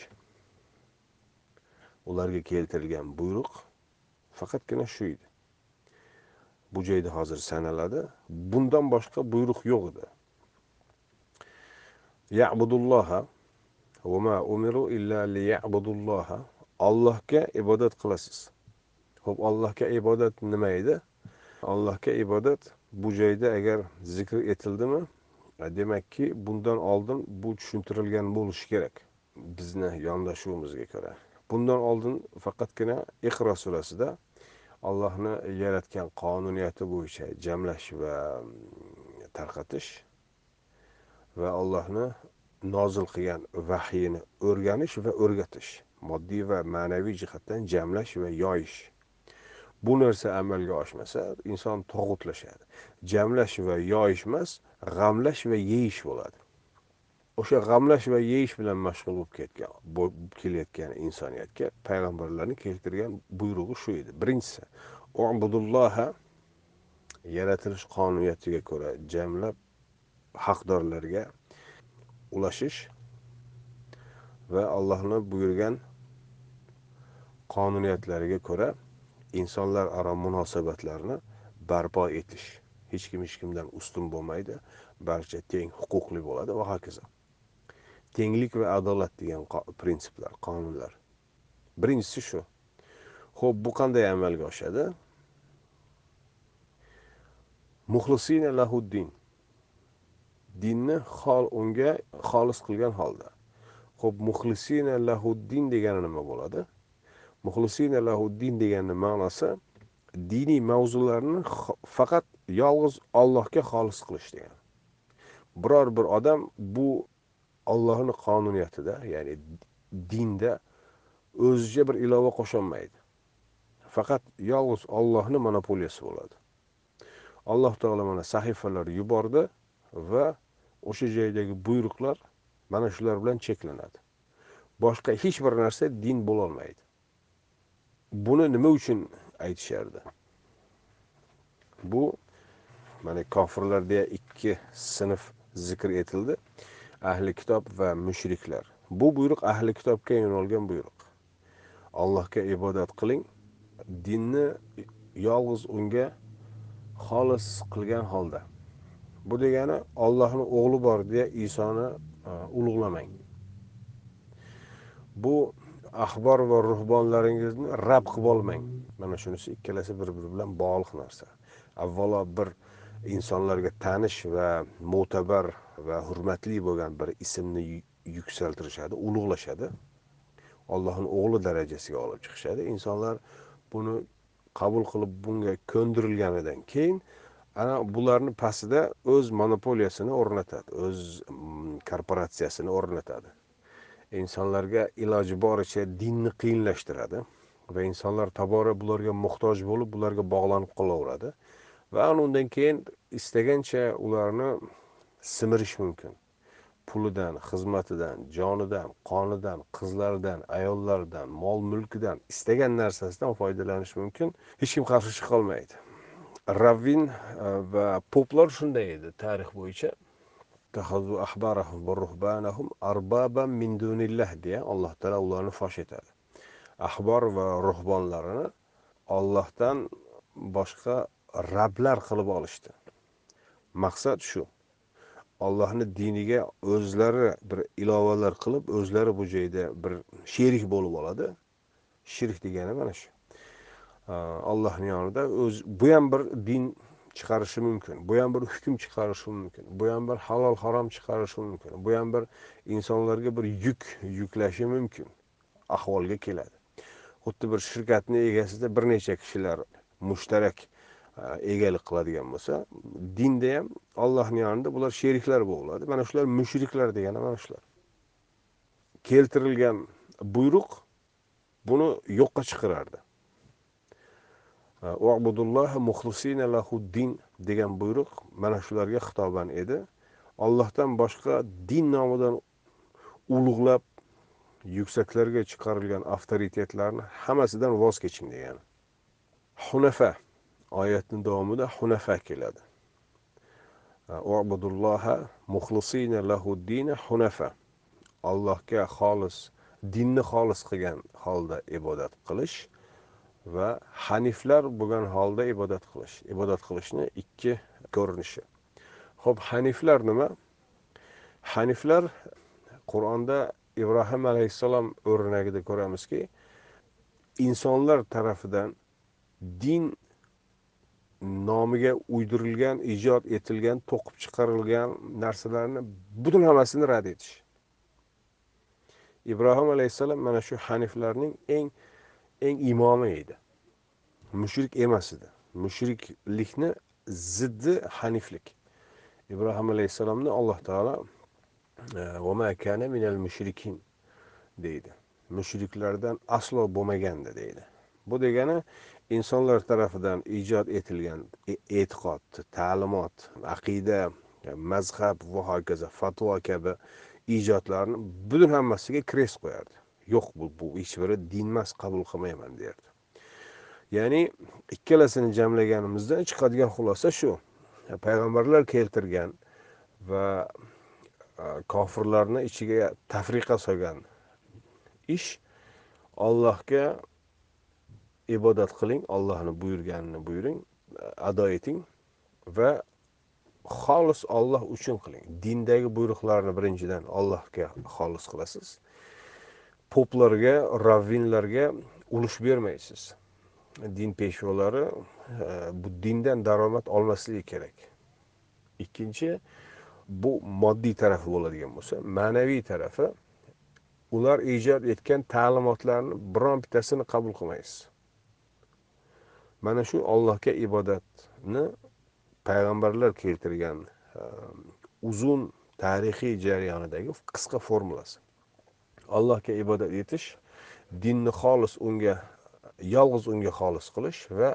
Ularga keltirilgan buyruq faqatgina shu edi. Bu joyda hozir sanaladi. Bundan boshqa buyruq yo'q edi. Ya'budulloha, Va ma umiru illa liya'budulloha. Allohga ibodat qilasiz. Xo'p, Allohga ibodat nima edi? Allohga ibodat bu joyda agar zikr etildimi, demakki bundan oldin bu tushuntirilgan bo'lishi kerak. Bizni yondashuvimizga ko'ra. Bundan oldin faqatgina Iqro surasida Allohni yaratgan qonuniyati bo'yicha jamlash va tarqatish va Allohni nozil qilgan vahiyini o'rganish va o'rgatish, moddiy va ma'naviy jihatdan jamlash va yoyish. Bu narsa amalga oshmasa, inson tog'utlashadi. Jamlash va yoyish emas, g'amlash va yeyish bo'ladi. O'sha g'amlash va yeyish bilan mashg'ul bo'lib kelayotgan insoniyatga payg'ambarlarning keltirgan buyrug'i shu edi. Birinchisi, ubudulloha, yaratilish qonuniyatiga ko'ra jamlab haqdorlarga ulashish va Allohning buyurgan qonuniyatlariga ko'ra insonlar aro munosabatlarni barpo etish. Hech kim hech kimdan ustun bo'lmaydi, barcha teng huquqli bo'ladi va hokazo. Tenglik va adolat degan prinsiplar, qonunlar. Birinchisi shu. Xo'p, bu qanday amalga oshadi? Muxlisina lahuddin. Dinni unga xolis qilgan holda. Xo'p, muxlisina lahuddin degani nima bo'ladi? Muxlisina lahuddin deganning ma'nosi diniy mavzularni faqat yolg'iz Allohga xolis qilish degani. Biror bir odam bu Allohning qonuniyatida, ya'ni dinda o'zicha bir ilova qo'sholmaydi. Faqat yolg'iz Allohning monopoliyasi bo'ladi. Alloh taolo mana sahifalar yubordi va o'sha joydagi buyruqlar mana shular bilan cheklanadi. Boshqa hech bir narsa din bo'la olmaydi. Buni nima uchun aytishardi? Bu mana kofirlarda ikki sinf zikr etildi. Ahli kitob va mushriklar. Bu buyruq ahli kitobga yo'nalgan buyruq. Allohga ibodat qiling, dinni yolg'iz unga xolis qilgan holda. Bu degani Allohning o'g'li bor deya Isoni ulug'lamang. Bu ahbor va ruhbonlaringizni rab qilib olmang. Mana shunisi ikkalasi bir-biri bilan bog'liq narsa. Avvalo bir insonlarga tanish va mo'tabar va hurmatli bo'lgan bir ismni yuksaltirishadi, ulug'lashadi. Allohning o'g'li darajasiga olib chiqishadi. Insonlar buni qabul qilib bunga ko'ndirilganidan keyin ana bularni pastida o'z monopoliyasini o'rnatadi, o'z korporatsiyasini o'rnatadi. İnsanlarga iloji boricha dinni qiyinlashtiradi va insonlar tobora bularga muhtoj bo'lib, bularga bog'lanib qolaveradi va undan keyin istagancha ularni simirish mumkin. Pulidan, xizmatidan, jonidan, qonidan, qizlaridan, ayollardan, mol-mulkidan, istagan narsasidan foydalanish mumkin. Hech kim qarshi chiqa olmaydi. Ravvin va poplar shunday edi tarix bo'yicha. Tahazu ahbarahum va ruhbanahum arbaban min dunillah deya Alloh taolo ularni fosh etadi. Ahbor va ruhbonlarini Allohdan boshqa rablar qilib olishdi. Maqsad shu. Allohning diniga o'zlari bir ilovalar qilib, o'zlari bu joyda bir sherik bo'lib oladi. Shirk degani mana shu. Allohning yonida bu ham bir din chiqarishi mumkin. Bu ham bir hukm chiqarishi mumkin. Bu ham bir halol harom chiqarishi mumkin. Bu ham bir insonlarga bir yuklashi mumkin. Ahvolga keladi. Xuddi bir shirkatning egasida bir necha kishilar mushtarak egalik qiladigan bo'lsa, dinda ham Allohning yonida bular sheriklar bo'ladi. Mana shular mushriklar degani mana shular. Keltirilgan buyruq buni yo'qqa chiqarardi. U'budulloha muxlisina lahuddin degan buyruq mana shularga xitoban edi. Allohdan boshqa din nomidan ulug'lab yuksaklarga chiqarilgan avtoritetlarni hammasidan voz keching degani. Hunafa oyatning davomida hunafa keladi. U'budulloha muxlisina lahuddin hunafa. Allohga xolis, dinni xolis qilgan holda ibodat qilish va haniflar bo'lgan holda ibodat qilish. Ibodat qilishni ikki ko'rinishi. Xo'p, haniflar nima? Haniflar Qur'onda ibrohim alayhissalom o'rnagida ko'ramizki, insonlar tarafidan din nomiga uydirilgan, ijod etilgan, to'qib chiqarilgan narsalarni butun hammasini rad etish. ibrohim alayhissalom mana shu haniflarning eng imomi edi. Mushrik emas edi. Mushriklikni ziddi haniflik. ibrohim alayhissalomni Alloh taolo va ma kana minal mushrikin deydi. Mushriklardan aslo bo'lmagandi deydi. Bu degani insonlar tarafidan ijod etilgan e'tiqod, ta'limot, aqida, mazhab va hokazo, fatvo kabi ijodlarni butun hammasiga kres qo'yardi. Yo'q, bu hech biri din emas, qabul qilmayman derdi. Ya'ni ikkalasini jamlaganimizda chiqadigan xulosa shu: payg'ambarlar keltirgan va kofirlarni ichiga tafriqa solgan ish, Allohga ibodat qiling, Allohni buyurganini buyuring, ado eting va xolis Alloh uchun qiling. Dindagi buyruqlarni birinchidan Allohga xolis qilasiz. Poplarga, ravvinlarga ulush bermaysiz. Din peshvolari bu dindan daromad olmasligi kerak. Ikkinchi, bu moddiy tarafi bo'ladigan bo'lsa, ma'naviy tarafi, ular ijod etgan ta'limotlarni biron bittasini qabul qilmaysiz. Mana shu Allohga ibodatni payg'ambarlar keltirgan uzun tarixiy jarayonidagi qisqa formulasi. Allohga ibodat etish, dinni xolis unga, yolg'iz unga xolis qilish va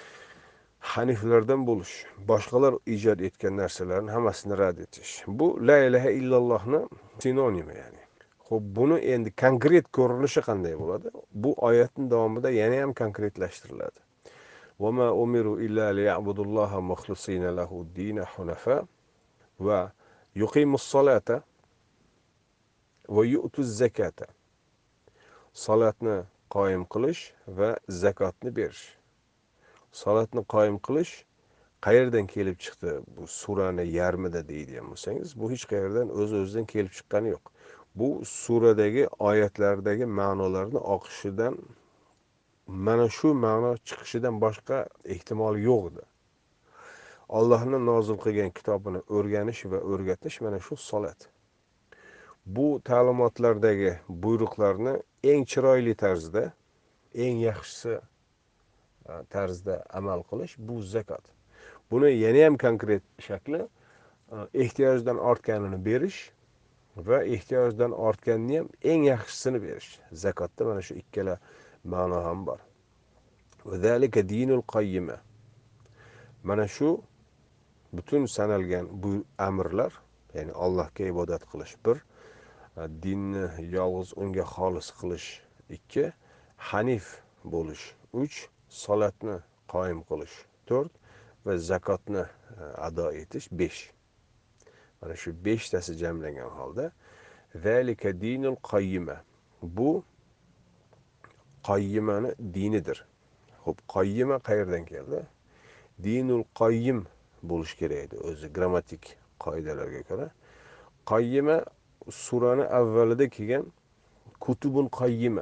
haniflardan bo'lish, boshqalar ijod etgan narsalarni hammasini rad etish. Bu la ilaha illallohni sinonimi ya'ni. Xo'p, buni endi konkret ko'rinishi qanday bo'ladi? Bu oyatning davomida yana ham konkretlashtiriladi. Va ma umiru illa liya'budulloha mukhlisina lahu ad-din hunafa va yuqimus solata va yu'tuz zakata. Salatni qoyim qilish va zakotni berish. Salatni qoyim qilish qayerdan kelib chiqdi? Bu surani yarmida deydigan bo'lsangiz, bu hech qayerdan o'z-o'zidan kelib chiqqani yo'q. Bu suradagi oyatlardagi ma'nolarni oqishidan, mana shu ma'no chiqishidan boshqa ehtimol yo'q edi. Allohning nozil qilgan kitobini o'rganish va o'rgatish mana shu salat. Bu ta'limotlardagi buyruqlarni eng chiroyli tarzda, eng yaxshisi tarzda amal qilish bu zakot. Buni yana ham konkret shakli ehtiyojdan ortganini berish va ehtiyojdan ortganini ham eng yaxshisini berish. Zakotda mana shu ikkala ma'no ham bor. Va zalika dinul qayyima. Mana shu butun sanalgan bu amrlar, ya'ni Allohga ibodat qilish 1, dinni yolg'iz unga xolis qilish 2, hanif bo'lish 3, salatni qoyim qilish 4 va zakotni ado etish 5. Mana shu 5 tasi jamlangan holda zalika dinul qayyima. Bu qayyimani dinidir. Xo'p, qayyima qayerdan keldi? Dinul qayyim bo'lish kerak edi o'zi grammatik qoidalarga ko'ra. Qayyima surani avvalida kelgan kutubun qayyima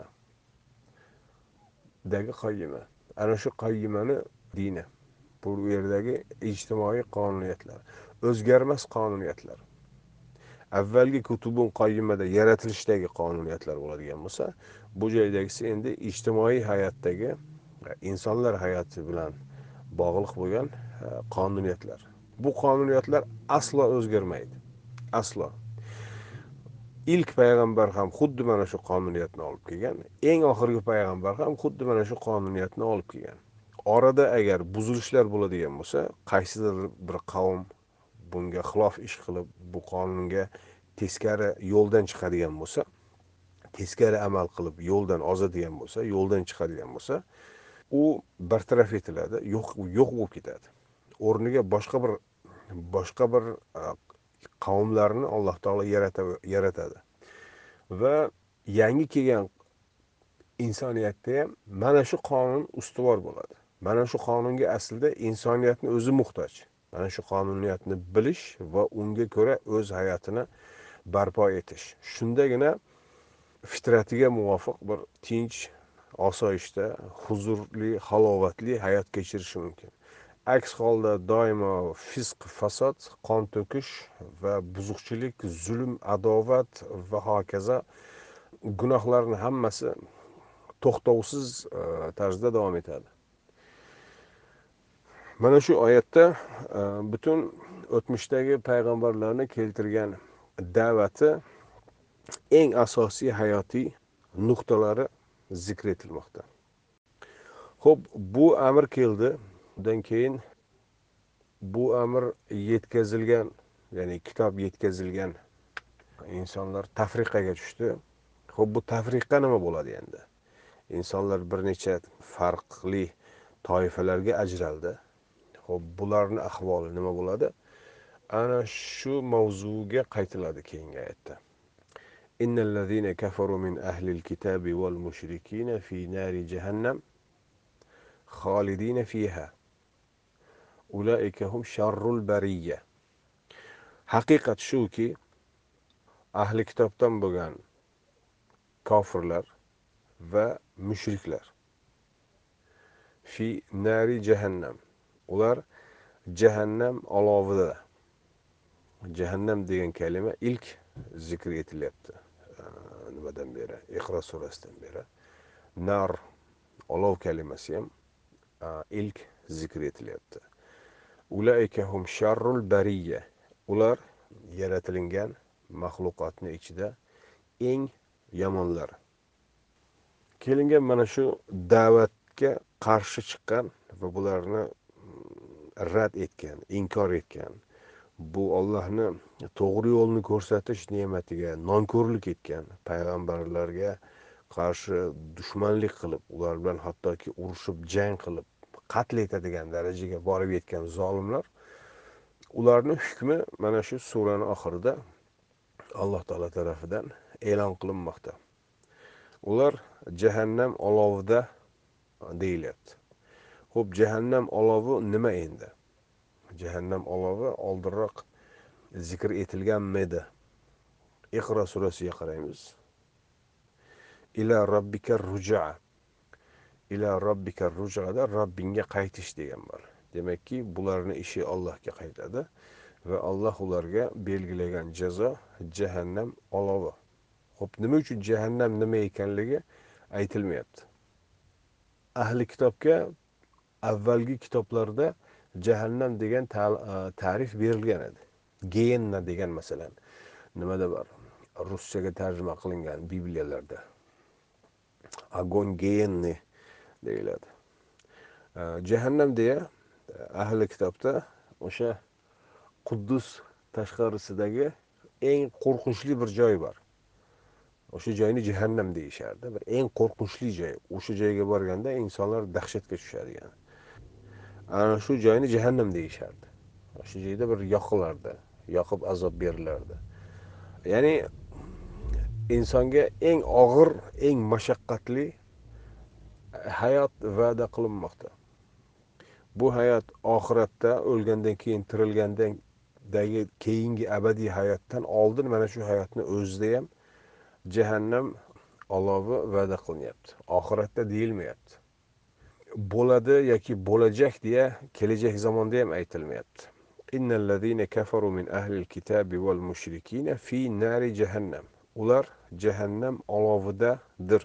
dagi qayyima. Ana shu qayyimani dini. Bu yerdagi ijtimoiy qonuniyatlar, o'zgarmas qonuniyatlar. Avvalgi kutubun qayyimada yaratilishdagi qonuniyatlar bo'ladigan bo'lsa, bu joydagisi endi ijtimoiy hayotdagi insonlar hayoti bilan bog'liq bo'lgan qonuniyatlar. Bu qonuniyatlar aslo o'zgarmaydi. Aslo. İlk payg'ambar ham xuddi mana shu qonuniyatni olib kelgan, eng oxirgi payg'ambar ham xuddi mana shu qonuniyatni olib kelgan. Orada agar buzilishlar bo'ladigan bo'lsa, qaysidir bir qavm bunga xilof ish qilib, bu qonunga teskari yo'ldan chiqadigan bo'lsa, teskari amal qilib yo'ldan ozadigan bo'lsa, yo'ldan chiqadigan bo'lsa, u bartaraf etiladi, yo'q bo'lib ketadi. O'rniga boshqa bir qavmlarni Alloh taolo yaratadi. Va yangi kelgan insoniyatda ham mana shu qonun ustuvor bo'ladi. Mana shu qonunga aslida insoniyatni o'zi muhtoj. Mana shu qonuniyatni bilish va unga ko'ra o'z hayotini barpo etish. Shundagina fitratiga muvofiq bir tinch, osoyishta, huzurli, halovatli hayot kechirishi mumkin. Aks holda doimo fisq, fasod, qon to'kish va buzuqchilik, zulm, adovat va hokazo gunohlarning hammasi to'xtovsiz tarzda davom etadi. Mana shu oyatda butun o'tmishdagi payg'ambarlarni keltirgan da'vati eng asosiy hayotiy nuqtalari zikr etilmoqda. Xo'p, bu amr keldi. Undan keyin bu amr yetkazilgan, ya'ni kitob yetkazilgan insonlar tafriqaga tushdi. Xo'p, bu tafriqa nima bo'ladi endi? İnsanlar bir necha farqli toifalarga ajraldi. Xo'p, bularning ahvoli nima bo'ladi? Ana shu mavzuga qaytiladi keyingi oyatda. Innallazina kafaru min ahlil kitabi wal mushrikina fi nari jahannam khalidina fiha. Ulaika hum sharrul bariyya. Haqiqat shuki, ahli kitobdan bo'lgan kofirlar va mushriklar fi nari jahannam. Ular jahannam olovida. Jahannam degan kalima ilk zikr etilyapti. Nimadan beri? Iqro surasidan beri. Nar, olov kalimasi ham ilk zikr etilyapti. Ulaika hum sharrul bariyya. Ular yaratilgan maxluqotning ichida eng yomonlar. Kelingan mana shu da'vatga qarshi chiqqan va bularni rad etgan, inkor etgan, bu Allohni to'g'ri yo'lni ko'rsatish ne'matiga nonko'rlik etgan payg'ambarlarga qarshi dushmanlik qilib, ular bilan hattoki urushib, jang qilib, qatl etadigan darajaga borib yetgan zolimlar, ularning hukmi mana shu suraning oxirida Alloh taolo tarafidan e'lon qilinmoqda. Ular jahannam olovida deyilyapti. Xo'p, jahannam olovi nima endi? Jahannam olovi oldinroq zikr etilganmidi? Iqro surasiga qaraymiz. Ila robbika ruj'a. Ila robbika ruj'ada Robbingga qaytish degan bor. Demakki, bularning ishi Allohga qaytadi va Alloh ularga belgilagan jazo jahannam olovi. Xo'p, nima uchun jahannam nima ekanligi aytilmayapti. Ahli kitobga avvalgi kitoblarda jahannam degan ta'rif berilgan edi. Geyenna degan masalan nimada bor? Ruschaga tarjima qilingan Bibliyalarda. Agon geyenni deyiladi. Jahannam deya ahli kitobda o'sha Quddus tashqarisidagi eng qo'rqinchli bir joy bor. O'sha joyni jahannam deyishardi. Bir eng qo'rqinchli joy. O'sha joyga borganda insonlar dahshatga tushadigan. Ana shu joyni jahannam deyishardi. O'sha joyda bir yoqilardi, yoqib azob berilardi. Ya'ni insonga eng og'ir, eng mashaqqatli hayot va'da qilinmoqda. Bu hayot oxiratda o'lgandan keyin tirilgandagi keyingi abadiy hayotdan oldin mana shu hayotni o'zida ham jahannam olovi va'da qilinyapti. Oxiratda deyilmayapti. Bo'ladi yoki bo'lajak deya kelajak zamonda ham aytilmayapti. Innallazina kafaru min ahlil kitabi wal mushrikina fi nari jahannam. Ular jahannam olovidadir.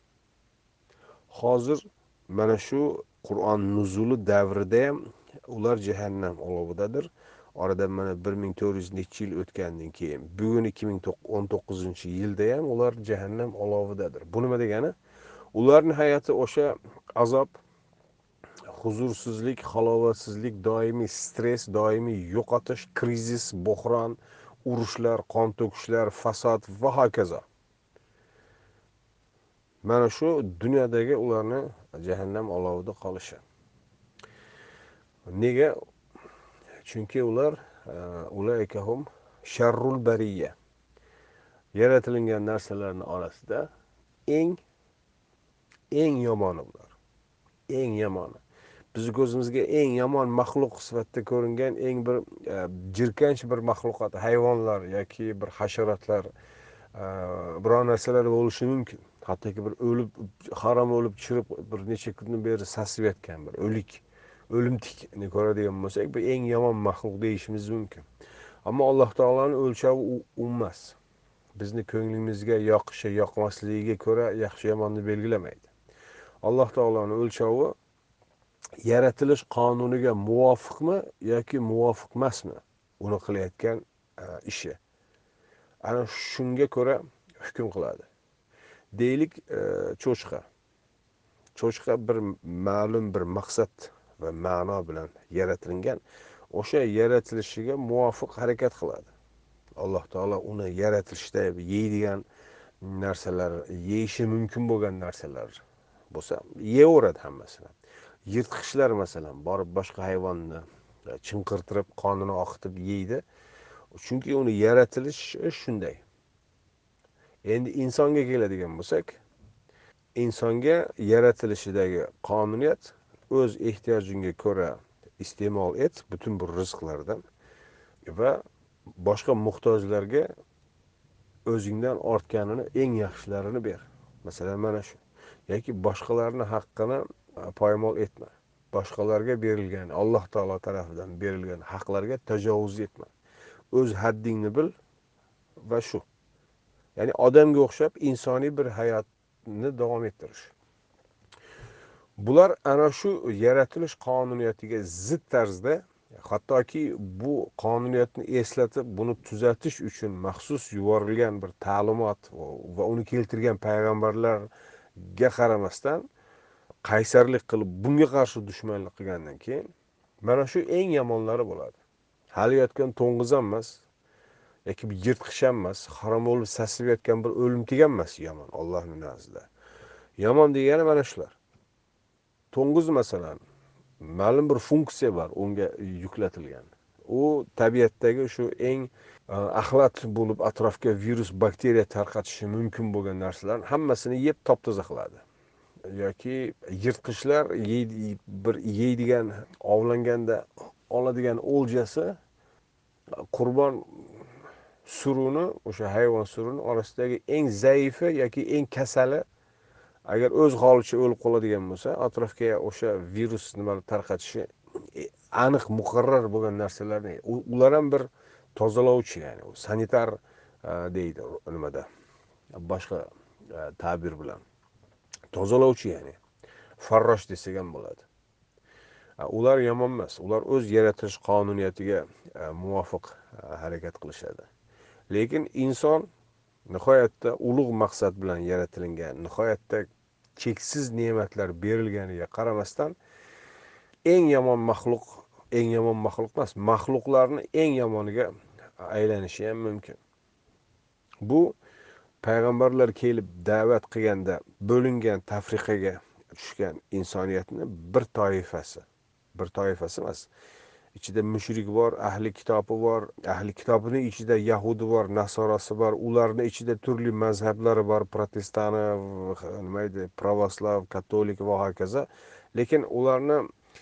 Hozir mana shu Qur'on nuzuli davrida ham ular jahannam olovidadir. Oradan mana 1400 necha yil o'tgandan keyin bugun 2019-yilda ham ular jahannam olovidadir. Bu nima degani? Ularning hayoti o'sha azob, huzursizlik, halovatsizlik, doimiy stress, doimiy yo'qotish, krizis, bo'hron, urushlar, qon to'kishlar, fasod va hokazo. Mana shu dunyodagi ularni jahannam olovida qolishi. Nega? Chunki ular ulaykahum sharrul bariyya. Yaratilgan narsalarning orasida eng yomoni ular. Eng yomoni. Biz ko'zimizga eng yomon maxluq sifatida ko'ringan eng bir jirkanch bir maxluqot, hayvonlar yoki bir hasharotlar biror narsalar bo'lishi mumkin. Hattoki bir harom o'lib chirib bir necha kundan beri sasib yotgan bir o'limtikni ko'radigan bo'lsak, bu eng yomon maxluq deyishimiz mumkin. Ammo Alloh taolaning o'lchovi u emas. Bizni ko'nglimizga yoqishi, yoqmasligiga ko'ra yaxshi yomonni belgilamaydi. Alloh taolaning o'lchovi yaratilish qonuniga muvofiqmi yoki muvofiq emasmi uni qilayotgan ishi. Ana shunga ko'ra hukm qiladi. Deylik, cho'chqa bir ma'lum bir maqsad va ma'no bilan yaratilgan, o'sha yaratilishiga muvofiq harakat qiladi. Alloh taolo uni yaratishda yeydigan narsalar, yeyishi mumkin bo'lgan narsalar bo'lsa, yeyaveradi hammasini. Yirtqichlar masalan borib boshqa hayvonni chinqirtirib, qonini oqitib yeydi. Chunki uni yaratilishi shunday. Endi insonga keladigan bo'lsak, insonga yaratilishidagi qonuniyat o'z ehtiyojingga ko'ra iste'mol et butun bu rizqlardan va boshqa muhtojlarga o'zingdan ortganini eng yaxshilarini ber. Masalan, mana shu. Yoki boshqalarni haqqini poymol etma. Boshqalarga berilgan, Alloh taolo tarafidan berilgan haqlarga tajovuz etma. O'z haddingni bil va shu. Ya'ni odamga o'xshab insoniy bir hayotni davom ettirish. Bular ana shu yaratilish qonuniyatiga zid tarzda, hattoki bu qonuniyatni eslatib, buni tuzatish uchun maxsus yuborilgan bir ta'limot va uni keltirgan payg'ambarlarga qaramasdan qaysarlik qilib bunga qarshi dushmanlik qilgandan keyin mana shu eng yomonlari bo'ladi. Hali yotgan to'ng'iz ham emas yoki bir yirtqich ham emas, harom bo'lib sasib yotgan bir o'limtik ham emas yomon Allohning nazdida. Yomon degani mana shular. To'ng'iz masalan ma'lum bir funksiya bor unga yuklatilgan. U tabiatdagi shu eng axlat bo'lib atrofga virus, bakteriya tarqatishi mumkin bo'lgan narsalarni hammasini yeb top-toza qiladi. Yoki yirtqichlar bir yeydigan, ovlanganda oladigan o'ljasi qurbon suruni, o'sha hayvon suruni orasidagi eng zaifi yoki eng kasali agar o'z holicha o'lib qoladigan bo'lsa, atrofga o'sha virus nimalar tarqatishi aniq muqarrar bo'lgan narsalarni ular ham bir tozalovchi, ya'ni sanitar deydi nimada boshqa ta'bir bilan tozalovchi, ya'ni farrosh desak ham bo'ladi. Ular yomon emas. Ular o'z yaratilish qonuniyatiga muvofiq harakat qilishadi. Lekin inson nihoyatda ulug' maqsad bilan yaratilgan, nihoyatda cheksiz ne'matlar berilganiga qaramasdan eng yomon maxluq emas, maxluqlarni eng yomoniga aylanishi ham mumkin. Bu payg'ambarlar kelib da'vat qilganda bo'lingan, tafriqaga tushgan insoniyatni bir toifasi emas. Ichida mushrik bor, ahli kitobi bor, ahli kitobining ichida yahudi bor, nasorosi bor, ularning ichida turli mazhablari bor, protestani, nima edi, pravoslav, katolik va hokazo. Lekin ularni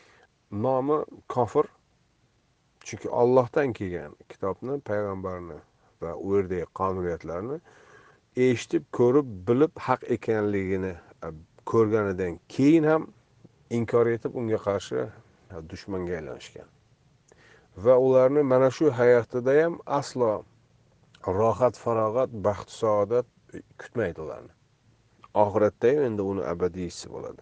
nomi kofir. Chunki Allohdan kelgan kitobni, payg'ambarni va u yerdagi qonuniyatlarni eshitib, ko'rib, bilib haq ekanligini ko'rganidan keyin ham inkor etib, unga qarshi dushmanga aylanishgan. Va ularni mana shu hayotida ham aslo rohat, farog'at, baxt, saodat kutmaydi ularni. Oxiratda ham endi uni abadiysi bo'ladi.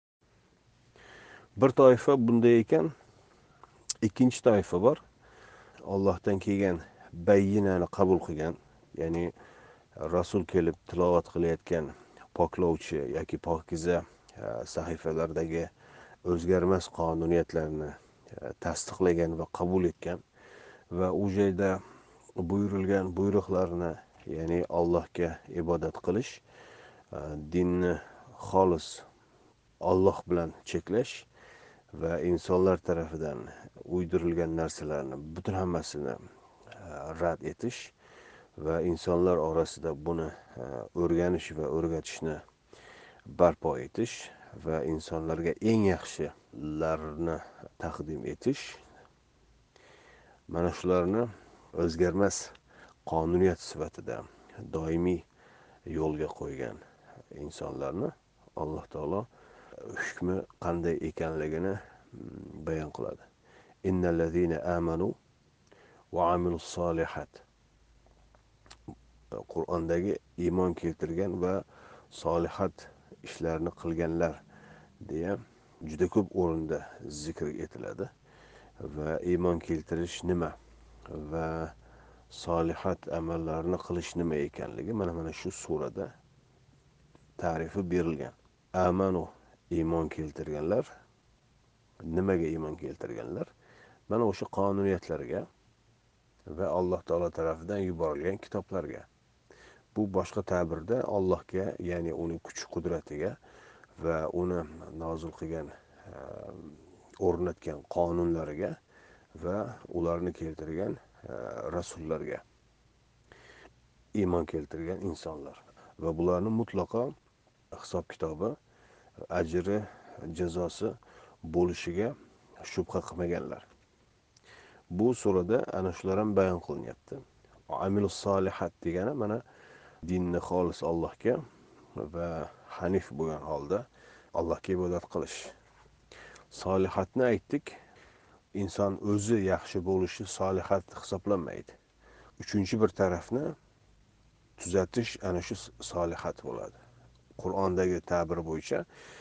Bir toifa bunday ekan, ikkinchi toifa bor. Allohdan kelgan bayyinani qabul qilgan, ya'ni Rasul kelib tilovat qilayotgan poklovchi yoki pokiza sahifalardagi o'zgarmas qonuniyatlarni tasdiqlagan va qabul etgan va u joyda buyurilgan buyruqlarni, ya'ni Allohga ibodat qilish, dinni xolis Alloh bilan cheklash va insonlar tarafidan uydirilgan narsalarni butun hammasini rad etish va insonlar orasida buni o'rganish va o'rgatishni barpo etish va insonlarga eng yaxshilarini taqdim etish, mana shularni o'zgarmas qonuniyat sifatida doimiy yo'lga qo'ygan insonlarni alloh taolo hukmi qanday ekanligini bayon qiladi. Innallazina amanu va amilus solihat. Qur'ondagi iymon keltirgan va solihat ishlarni qilganlar deya juda ko'p o'rinda zikr etiladi. Va iymon keltirish nima va solihat amallarni qilish nima ekanligi mana shu surada ta'rifi berilgan. Amanu, iymon keltirganlar. Nimaga iymon keltirganlar? Mana o'sha qonuniyatlarga va Alloh taolo tomonidan yuborilgan kitoblarga. Bu boshqa ta'birda Allohga, ya'ni uning kuch qudratiga va uni nozil qilgan, o'rnatgan qonunlariga va ularni keltirgan rasullarga iymon keltirgan insonlar va bularni mutlaqo hisob kitobi, ajri, jazosi bo'lishiga shubha qilmaganlar. Bu surada ana shular ham bayon qilinyapti. Amilus solihat degani mana dinni xolis Allohga va hanif bo'lgan holda Allohga ibodat qilish. Solihatni aytdik. Inson o'zi yaxshi bo'lishi solihat hisoblanmaydi. Uchinchi bir tarafni tuzatish ana shu solihat bo'ladi. Qur'ondagi ta'bir bo'yicha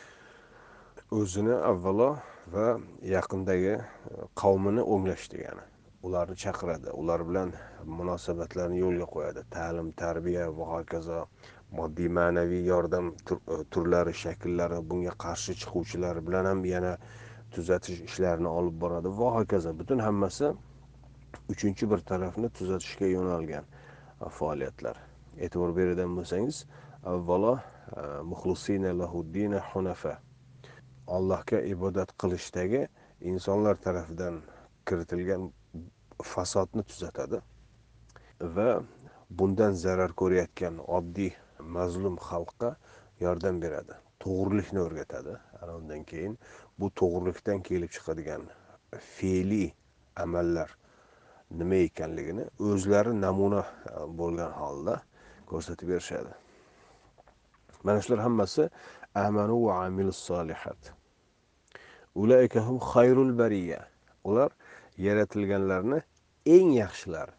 o'zini avvalo va yaqindagi qavmini o'nglash degani. Ularni chaqiradi, ular bilan munosabatlarni yo'lga qo'yadi. Ta'lim, tarbiya va hokazo, moddiy ma'naviy yordam turlari, shakllari, bunga qarshi chiquvchilar bilan ham yana tuzatish ishlarini olib boradi va hokazo. Butun hammasi uchinchi bir tarafni tuzatishga yo'nalgan faoliyatlar. E'tibor beradigan bo'lsangiz, avvalo muxlisina lahuddina hunafa. Allohga ibodat qilishdagi insonlar tarafidan kiritilgan fasodni tuzatadi va bundan zarar ko'rayotgan oddiy mazlum xalqqa yordam beradi. To'g'rilikni o'rgatadi. Ana undan keyin bu to'g'rilikdan kelib chiqadigan fe'liy amallar nima ekanligini o'zlari namuna bo'lgan holda ko'rsatib berishadi. Mana shular hammasi amanu va amilus solihat. Ulaika hum khayrul bariya. Ular yaratilganlarni eng yaxshilari.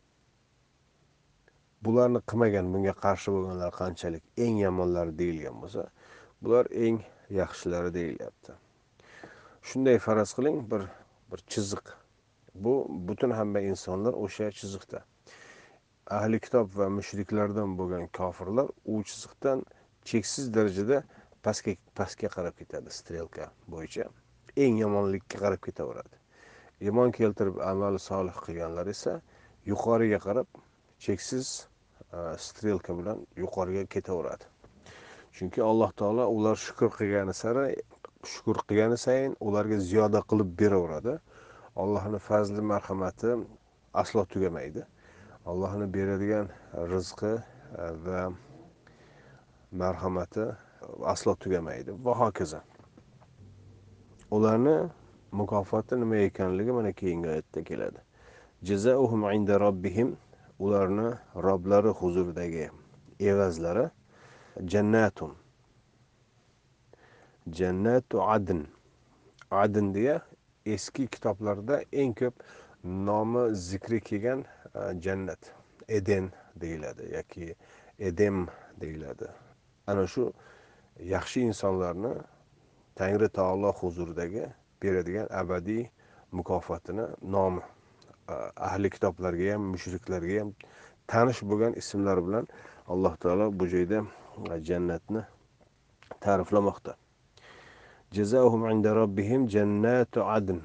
Bularni qilmagan, bunga qarshi bo'lganlar qanchalik eng yomonlari deyilgan bo'lsa, bular eng yaxshilari deyilyapti. Shunday faraz qiling, bir chiziq. Bu butun hamma insonlar o'sha chiziqda. Ahli kitob va mushriklardan bo'lgan kofirlar u chiziqdan cheksiz darajada pastga qarab ketadi, strelka bo'yicha. Eng yomonlikka qarab ketaveradi. Iymon keltirib amal solih qilganlar esa yuqoriga qarab cheksiz strelka bilan yuqoriga ketaveradi. Chunki Alloh taolo ular shukr qilgani sayin ularga ziyoda qilib beraveradi. Allohning fazli marhamati aslo tugamaydi. Allohning beradigan rizqi va marhamati aslo tugamaydi va hokazo. Ularni mukofoti nima ekanligi mana keyingi oyatda keladi. Jazaohum inda robbihim, ularni Robblari huzuridagi evazlari jannatu adn. Adn deya eski kitoblarda eng ko'p nomi zikri kelgan jannat, Eden deyiladi yoki Edem deyiladi. Ana shu yaxshi insonlarni Tangri taolo huzuridagi beradigan abadiy mukofotini nomi ahli kitoblarga ham, mushriklarga ham tanish bo'lgan ismlar bilan Alloh taolo bu joyda jannatni ta'riflamoqda. Jazaohum inda robbihim jannatu adn.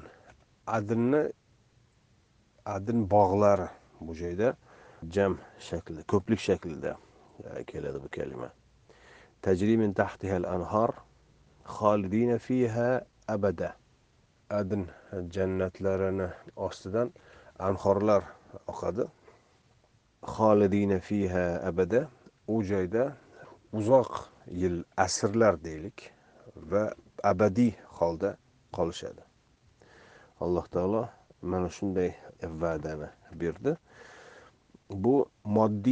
Adn bog'lari bu joyda jam shaklida, ko'plik shaklida keladi bu kalima. Tajri min tahtiha al-anhar xolidina fiha abada. Adn jannatlarini ostidan anhorlar oqadi. Xolidina fiha abada. U joyda uzoq yil, asrlar deylik va abadiy holda qolishadi. Alloh taolo mana shunday va'dani berdi. Bu moddiy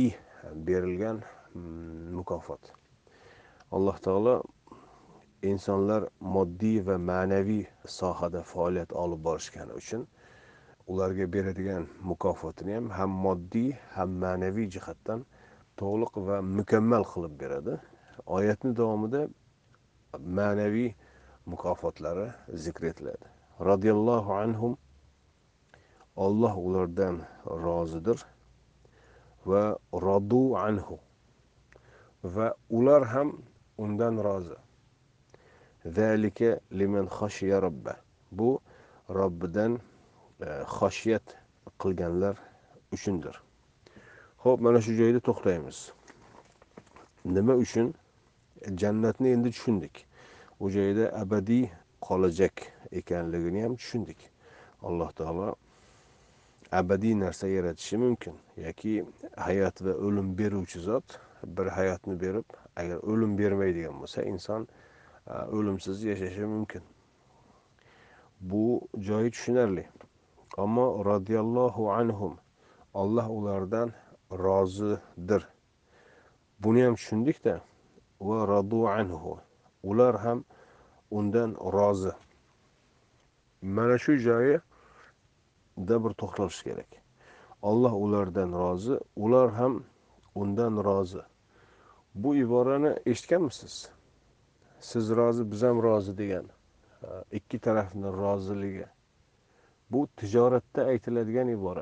berilgan mukofot. Alloh taolo insonlar moddiy va ma'naviy sohada faoliyat olib borishgani uchun ularga beradigan mukofotini ham moddiy ham ma'naviy jihatdan to'liq va mukammal qilib beradi. Oyatning davomida ma'naviy mukofotlari zikr etiladi. Radiyallohu anhum, Alloh ulardan rozidir, va radu anhu, va ular ham undan rozi. Zalika liman xashiya robba. Bu Robbidan xashiyat qilganlar uchundir. Xo'p, mana shu joyda to'xtaymiz. Nima uchun jannatni endi tushundik. U joyda abadiy qolajak ekanligini ham tushundik. Alloh taolo abadiy narsa yaratishi mumkin yoki hayot va o'lim beruvchi zot bir hayotni berib, agar o'lim bermaydigan bo'lsa, inson o'limsiz yashashi mumkin. Bu joyi tushunarli. Ammo radiyallohu anhum, Alloh ulardan rozidir. Buni ham tushundik-da. Va radu anhu, ular ham undan rozi. Mana shu joyida bir to'xtalish kerak. Alloh ulardan rozi, ular ham undan rozi. Bu iborani eshitganmisiz? Siz rozi, biz ham rozi degan ikki tarafning roziligi. Bu tijoratda aytiladigan ibora.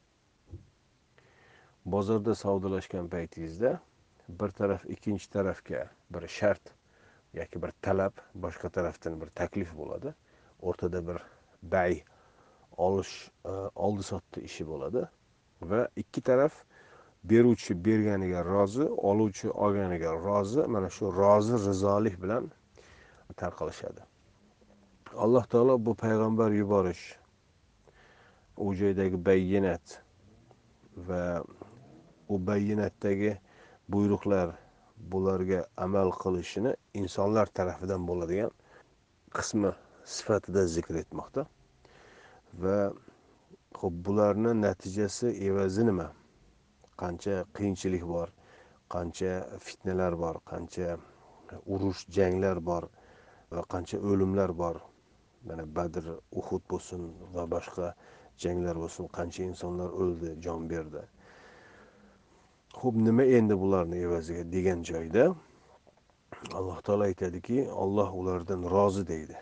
Bozorda savdolashgan paytingizda bir taraf ikkinchi tarafga bir shart yoki bir talab, boshqa tarafdan bir taklif bo'ladi. O'rtada bir bay, olish, oldi sotdi ishi bo'ladi va ikki taraf beruvchi berganiga rozi, oluvchi olganiga rozi. Mana shu rozi rizolik bilan tarqalishadi. Alloh taolo bu payg'ambar yuborish, u joydagi bayyinat va u bayyinatdagi buyruqlar, bularga amal qilishini insonlar tarafidan bo'ladigan qismi sifatida zikr etmoqda. Va xo'p, bularning natijasi, evazi nima? Qancha qiyinchilik bor, qancha fitnalar bor, qancha urush, janglar bor va qancha o'limlar bor. Mana Badr, Uhud bo'lsin va boshqa janglar bo'lsin, qancha insonlar o'ldi, jon berdi. Xo'p, nima endi bularning evaziga degan joyda Alloh taolo aytadiki, Alloh ulardan rozi deydi.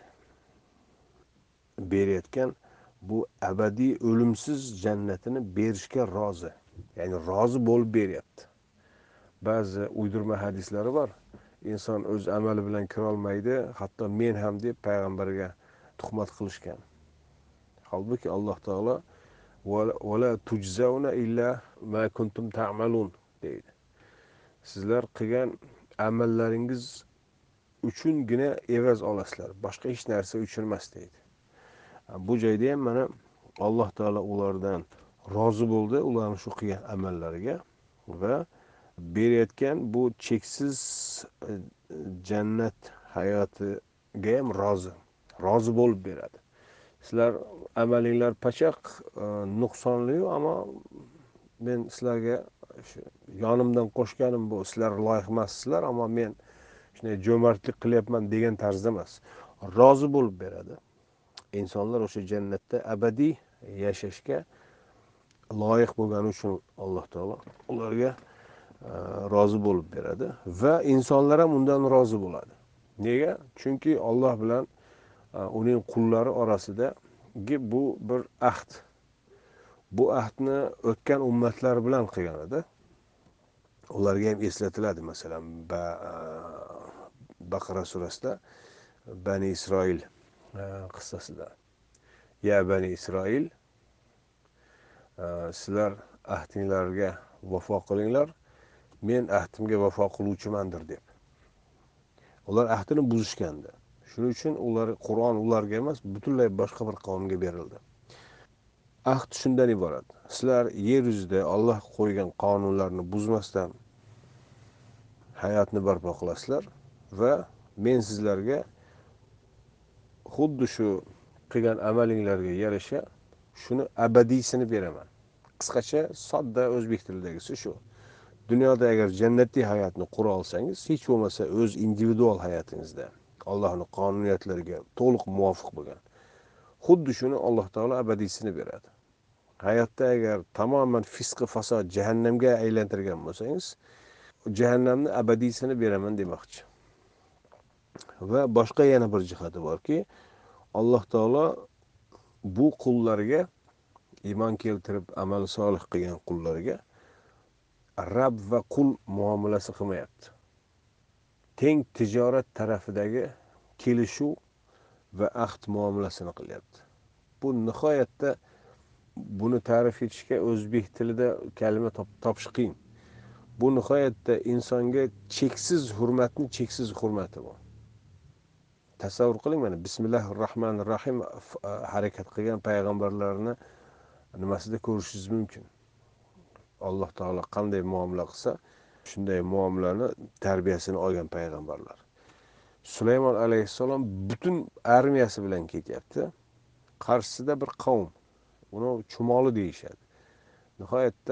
Berayotgan bu abadiy o'limsiz jannatini berishga rozi. Ya'ni rozi bo'lib beryapti. Ba'zi uydirma hadislari bor. Inson o'z amali bilan kira olmaydi, hatto men ham deb payg'ambarga tuhmat qilishgan. Halbuki Alloh taolo wala tujzauna illa ma kuntum ta'malun deydi. Sizlar qilgan amallaringiz uchungina evaz olasizlar, boshqa hech narsa uchun emas deydi. Bu joyda ham mana Alloh taolo ulardan rozi bo'ldi, ularning shu qilgan amallariga va berayotgan bu cheksiz jannat hayotiga ham rozi bo'lib beradi. Sizlar amalinglar pachaq, nuqsonli, ammo men sizlarga yonimdan qo'shganim bu, sizlar loyiq emassizlar, ammo men shunday jo'mardlik qilyapman degan tarzda emas. Rozi bo'lib beradi. İnsanlar o'sha jannatda abadiy yashashga loyiq bo'lgani uchun Alloh taolo ularga rozi bo'lib beradi va insonlar ham undan rozi bo'ladi. Nega? Chunki Alloh bilan uning qullari orasidagi bu bir ahd. Bu ahdni o'tgan ummatlar bilan qilgan edi. Ularga ham eslatiladi. Masalan, Baqara surasida Bani Isroil qissasida. Ya Bani Isroil, sizlar ahdinglarga vafo qilinglar, men ahdimga vafo qiluvchimandir deb. Ular ahdini buzishgandi. Shuning uchun Qur'on ularga emas, butunlay boshqa bir qavmga berildi. Ahd shundan iborat. Sizlar yer yuzida Alloh qo'ygan qonunlarni buzmasdan hayotni barpo qilasizlar va men sizlarga xuddi shu qilgan amalinglarga yarasha shuni abadiysini beraman. Qisqacha, sodda o'zbek tilidagisi shu. dunyoda agar jannatiy hayotni qura olsangiz, hech bo'lmasa o'z individual hayotingizda Allohning qonuniyatlariga to'liq muvofiq bo'lgan, xuddi shuni Alloh taolo abadiysini beradi. Hayotda agar tamoman fisqi fasod jahannamga aylantirgan bo'lsangiz, jahannamni abadiysini beraman demoqchi. Va boshqa yana bir jihati borki, Alloh taolo bu qullarga, iymon keltirib amal solih qilgan qullarga Rab va qul muomalasi qilmayapti. Teng tijorat tarafidagi kelishuv va ahd muomalasini qilyapti. Bu nihoyatda, buni ta'rif etishga o'zbek tilida kalima topish qiyin. Bu nihoyatda insonga cheksiz hurmatni cheksiz hurmati bu. Tasavvur qiling, mana bismillahir rohmanir rohim harakat qilgan payg'ambarlarni nimasida ko'rishingiz mumkin. Alloh taolo qanday muomala qilsa, shunday muomalani tarbiyasini olgan payg'ambarlar. Sulaymon alayhissalom butun armiyasi bilan ketyapti. Qarshisida bir qavm, uni chumoli deyishadi. Nihoyatda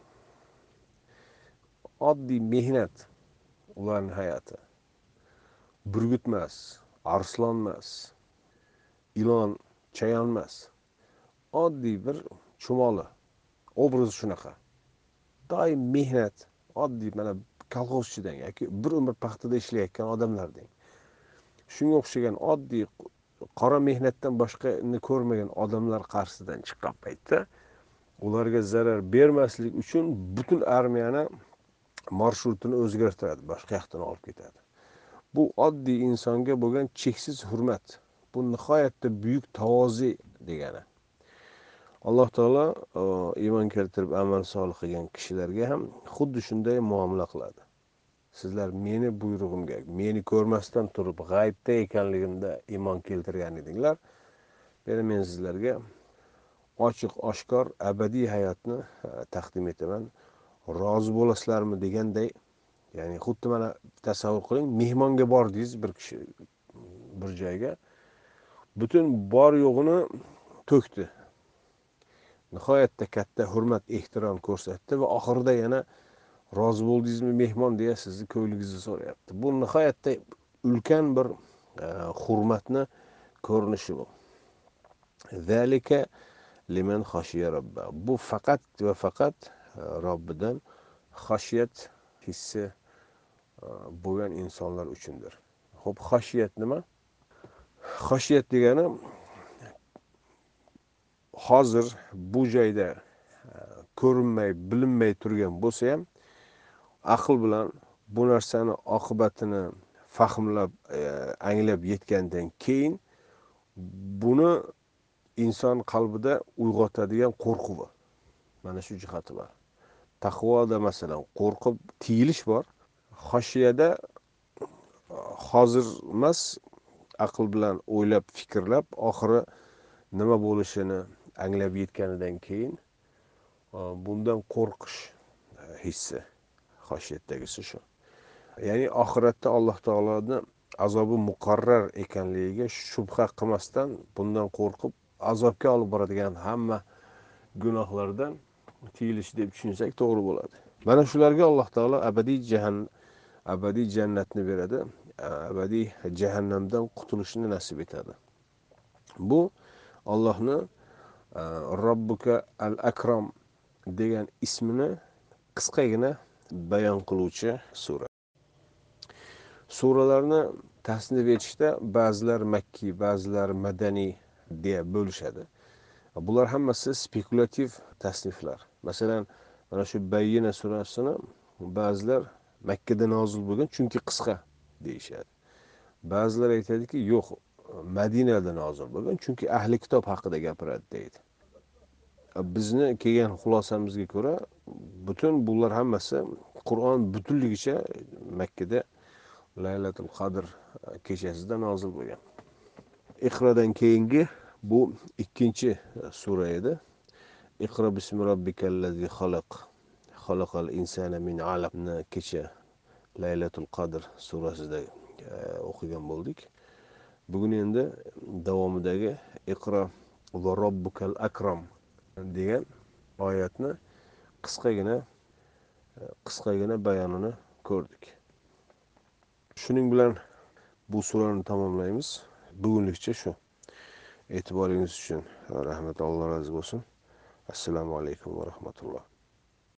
oddiy mehnat ularning hayoti. Burgut emas, arslon emas, ilon, chayon emas. Oddiy bir chumoli. Obrazi shunaqa. Doim mehnat, oddiy mana kolxozchidan yoki bir umr paxtada ishlayotgan odamlar deng. Shunga o'xshagan oddiy qora mehnatdan boshqani ko'rmagan odamlar qarshisidan chiqqan paytda ularga zarar bermaslik uchun butun armiyani marshrutini o'zgartiradi, boshqa yoqdan olib ketadi. Bu oddiy insonga bo'lgan cheksiz hurmat. Bu nihoyatda buyuk tavozi degani. Alloh taolo iymon keltirib amal solih qilgan kishilarga ham xuddi shunday muomala qiladi. Sizlar meni buyrug'imga, meni ko'rmasdan turib g'aybda ekanligimda iymon keltirgan edinglar. Men sizlarga ochiq oshkor abadiy hayotni taqdim etaman. Rozi bo'lasizlarmi deganday, ya'ni xuddi mana tasavvur qiling, mehmonga bordingiz bir kishi bir joyga, butun bor yo'g'ini to'kdi. Nihoyatda katta hurmat, ehtirom ko'rsatdi va oxirida yana rozi bo'ldingizmi mehmon deya sizni ko'yligingizni so'rayapti. Bu nihoyatda ulkan bir hurmatni ko'rinishi bu. Zalika liman xashiya robba. Bu faqat va faqat Robbidan xashiyat hissi bo'lgan insonlar uchundir. Xo'p, xashiyat nima? Xashiyat degani hozir bu joyda ko'rinmay, bilinmay turgan bo'lsa ham, aql bilan bu narsani oqibatini fahmlab, anglab yetgandan keyin buni inson qalbida uyg'otadigan qo'rquv. Mana shu jihati bor. Taqvoda masalan qo'rqib tiyilish bor. Xoshiyada hozir emas, aql bilan o'ylab, fikrlab, oxiri nima bo'lishini anglab yetganidan keyin bundan qo'rqish hissi, xoshiyatdagisi shu. Ya'ni oxiratda Alloh taoloning azobi muqarrar ekanligiga shubha qilmasdan bundan qo'rqib azobga olib boradigan hamma gunohlardan tiyilish deb tushunsak to'g'ri bo'ladi. Mana shularga Alloh taolo abadiy jannatni beradi, abadiy jahannamdan qutulishni nasib etadi. Bu Allohning Robbuka al-Akram degan ismini qisqagina bayon qiluvchi sura. Suralarni tasnif etishda ba'zilar makkiy, ba'zilar madaniy deya bo'lishadi. Bular hammasi spekulativ tasniflar. Masalan, mana shu Bayyina surasini ba'zilar Makkada nozil bo'lgan chunki qisqa deyishadi. Ba'zilar aytadiki, yo'q, Madinada nozil bo'lgan chunki ahli kitob haqida gapiradi deydi. Bizni kelgan xulosamizga ko'ra, butun bular hammasi Qur'on butunligicha Makkada Laylatul Qadr kechasida nozil bo'lgan. Iqrodan keyingi bu ikkinchi sura edi. Iqro bismi robbikallazi xalaq. Xalaqal insana min alaqni kecha Laylatul Qadr surasida o'qigan bo'ldik. Bugun endi davomidagi Iqro va robbukal akram degan oyatni qisqagina qisqagina bayonini ko'rdik. Shuning bilan bu surani tamomlaymiz. Bugunlikcha shu. E'tiboringiz uchun rahmat, Alloh rozi bo'lsin. Assalomu alaykum va rahmatulloh.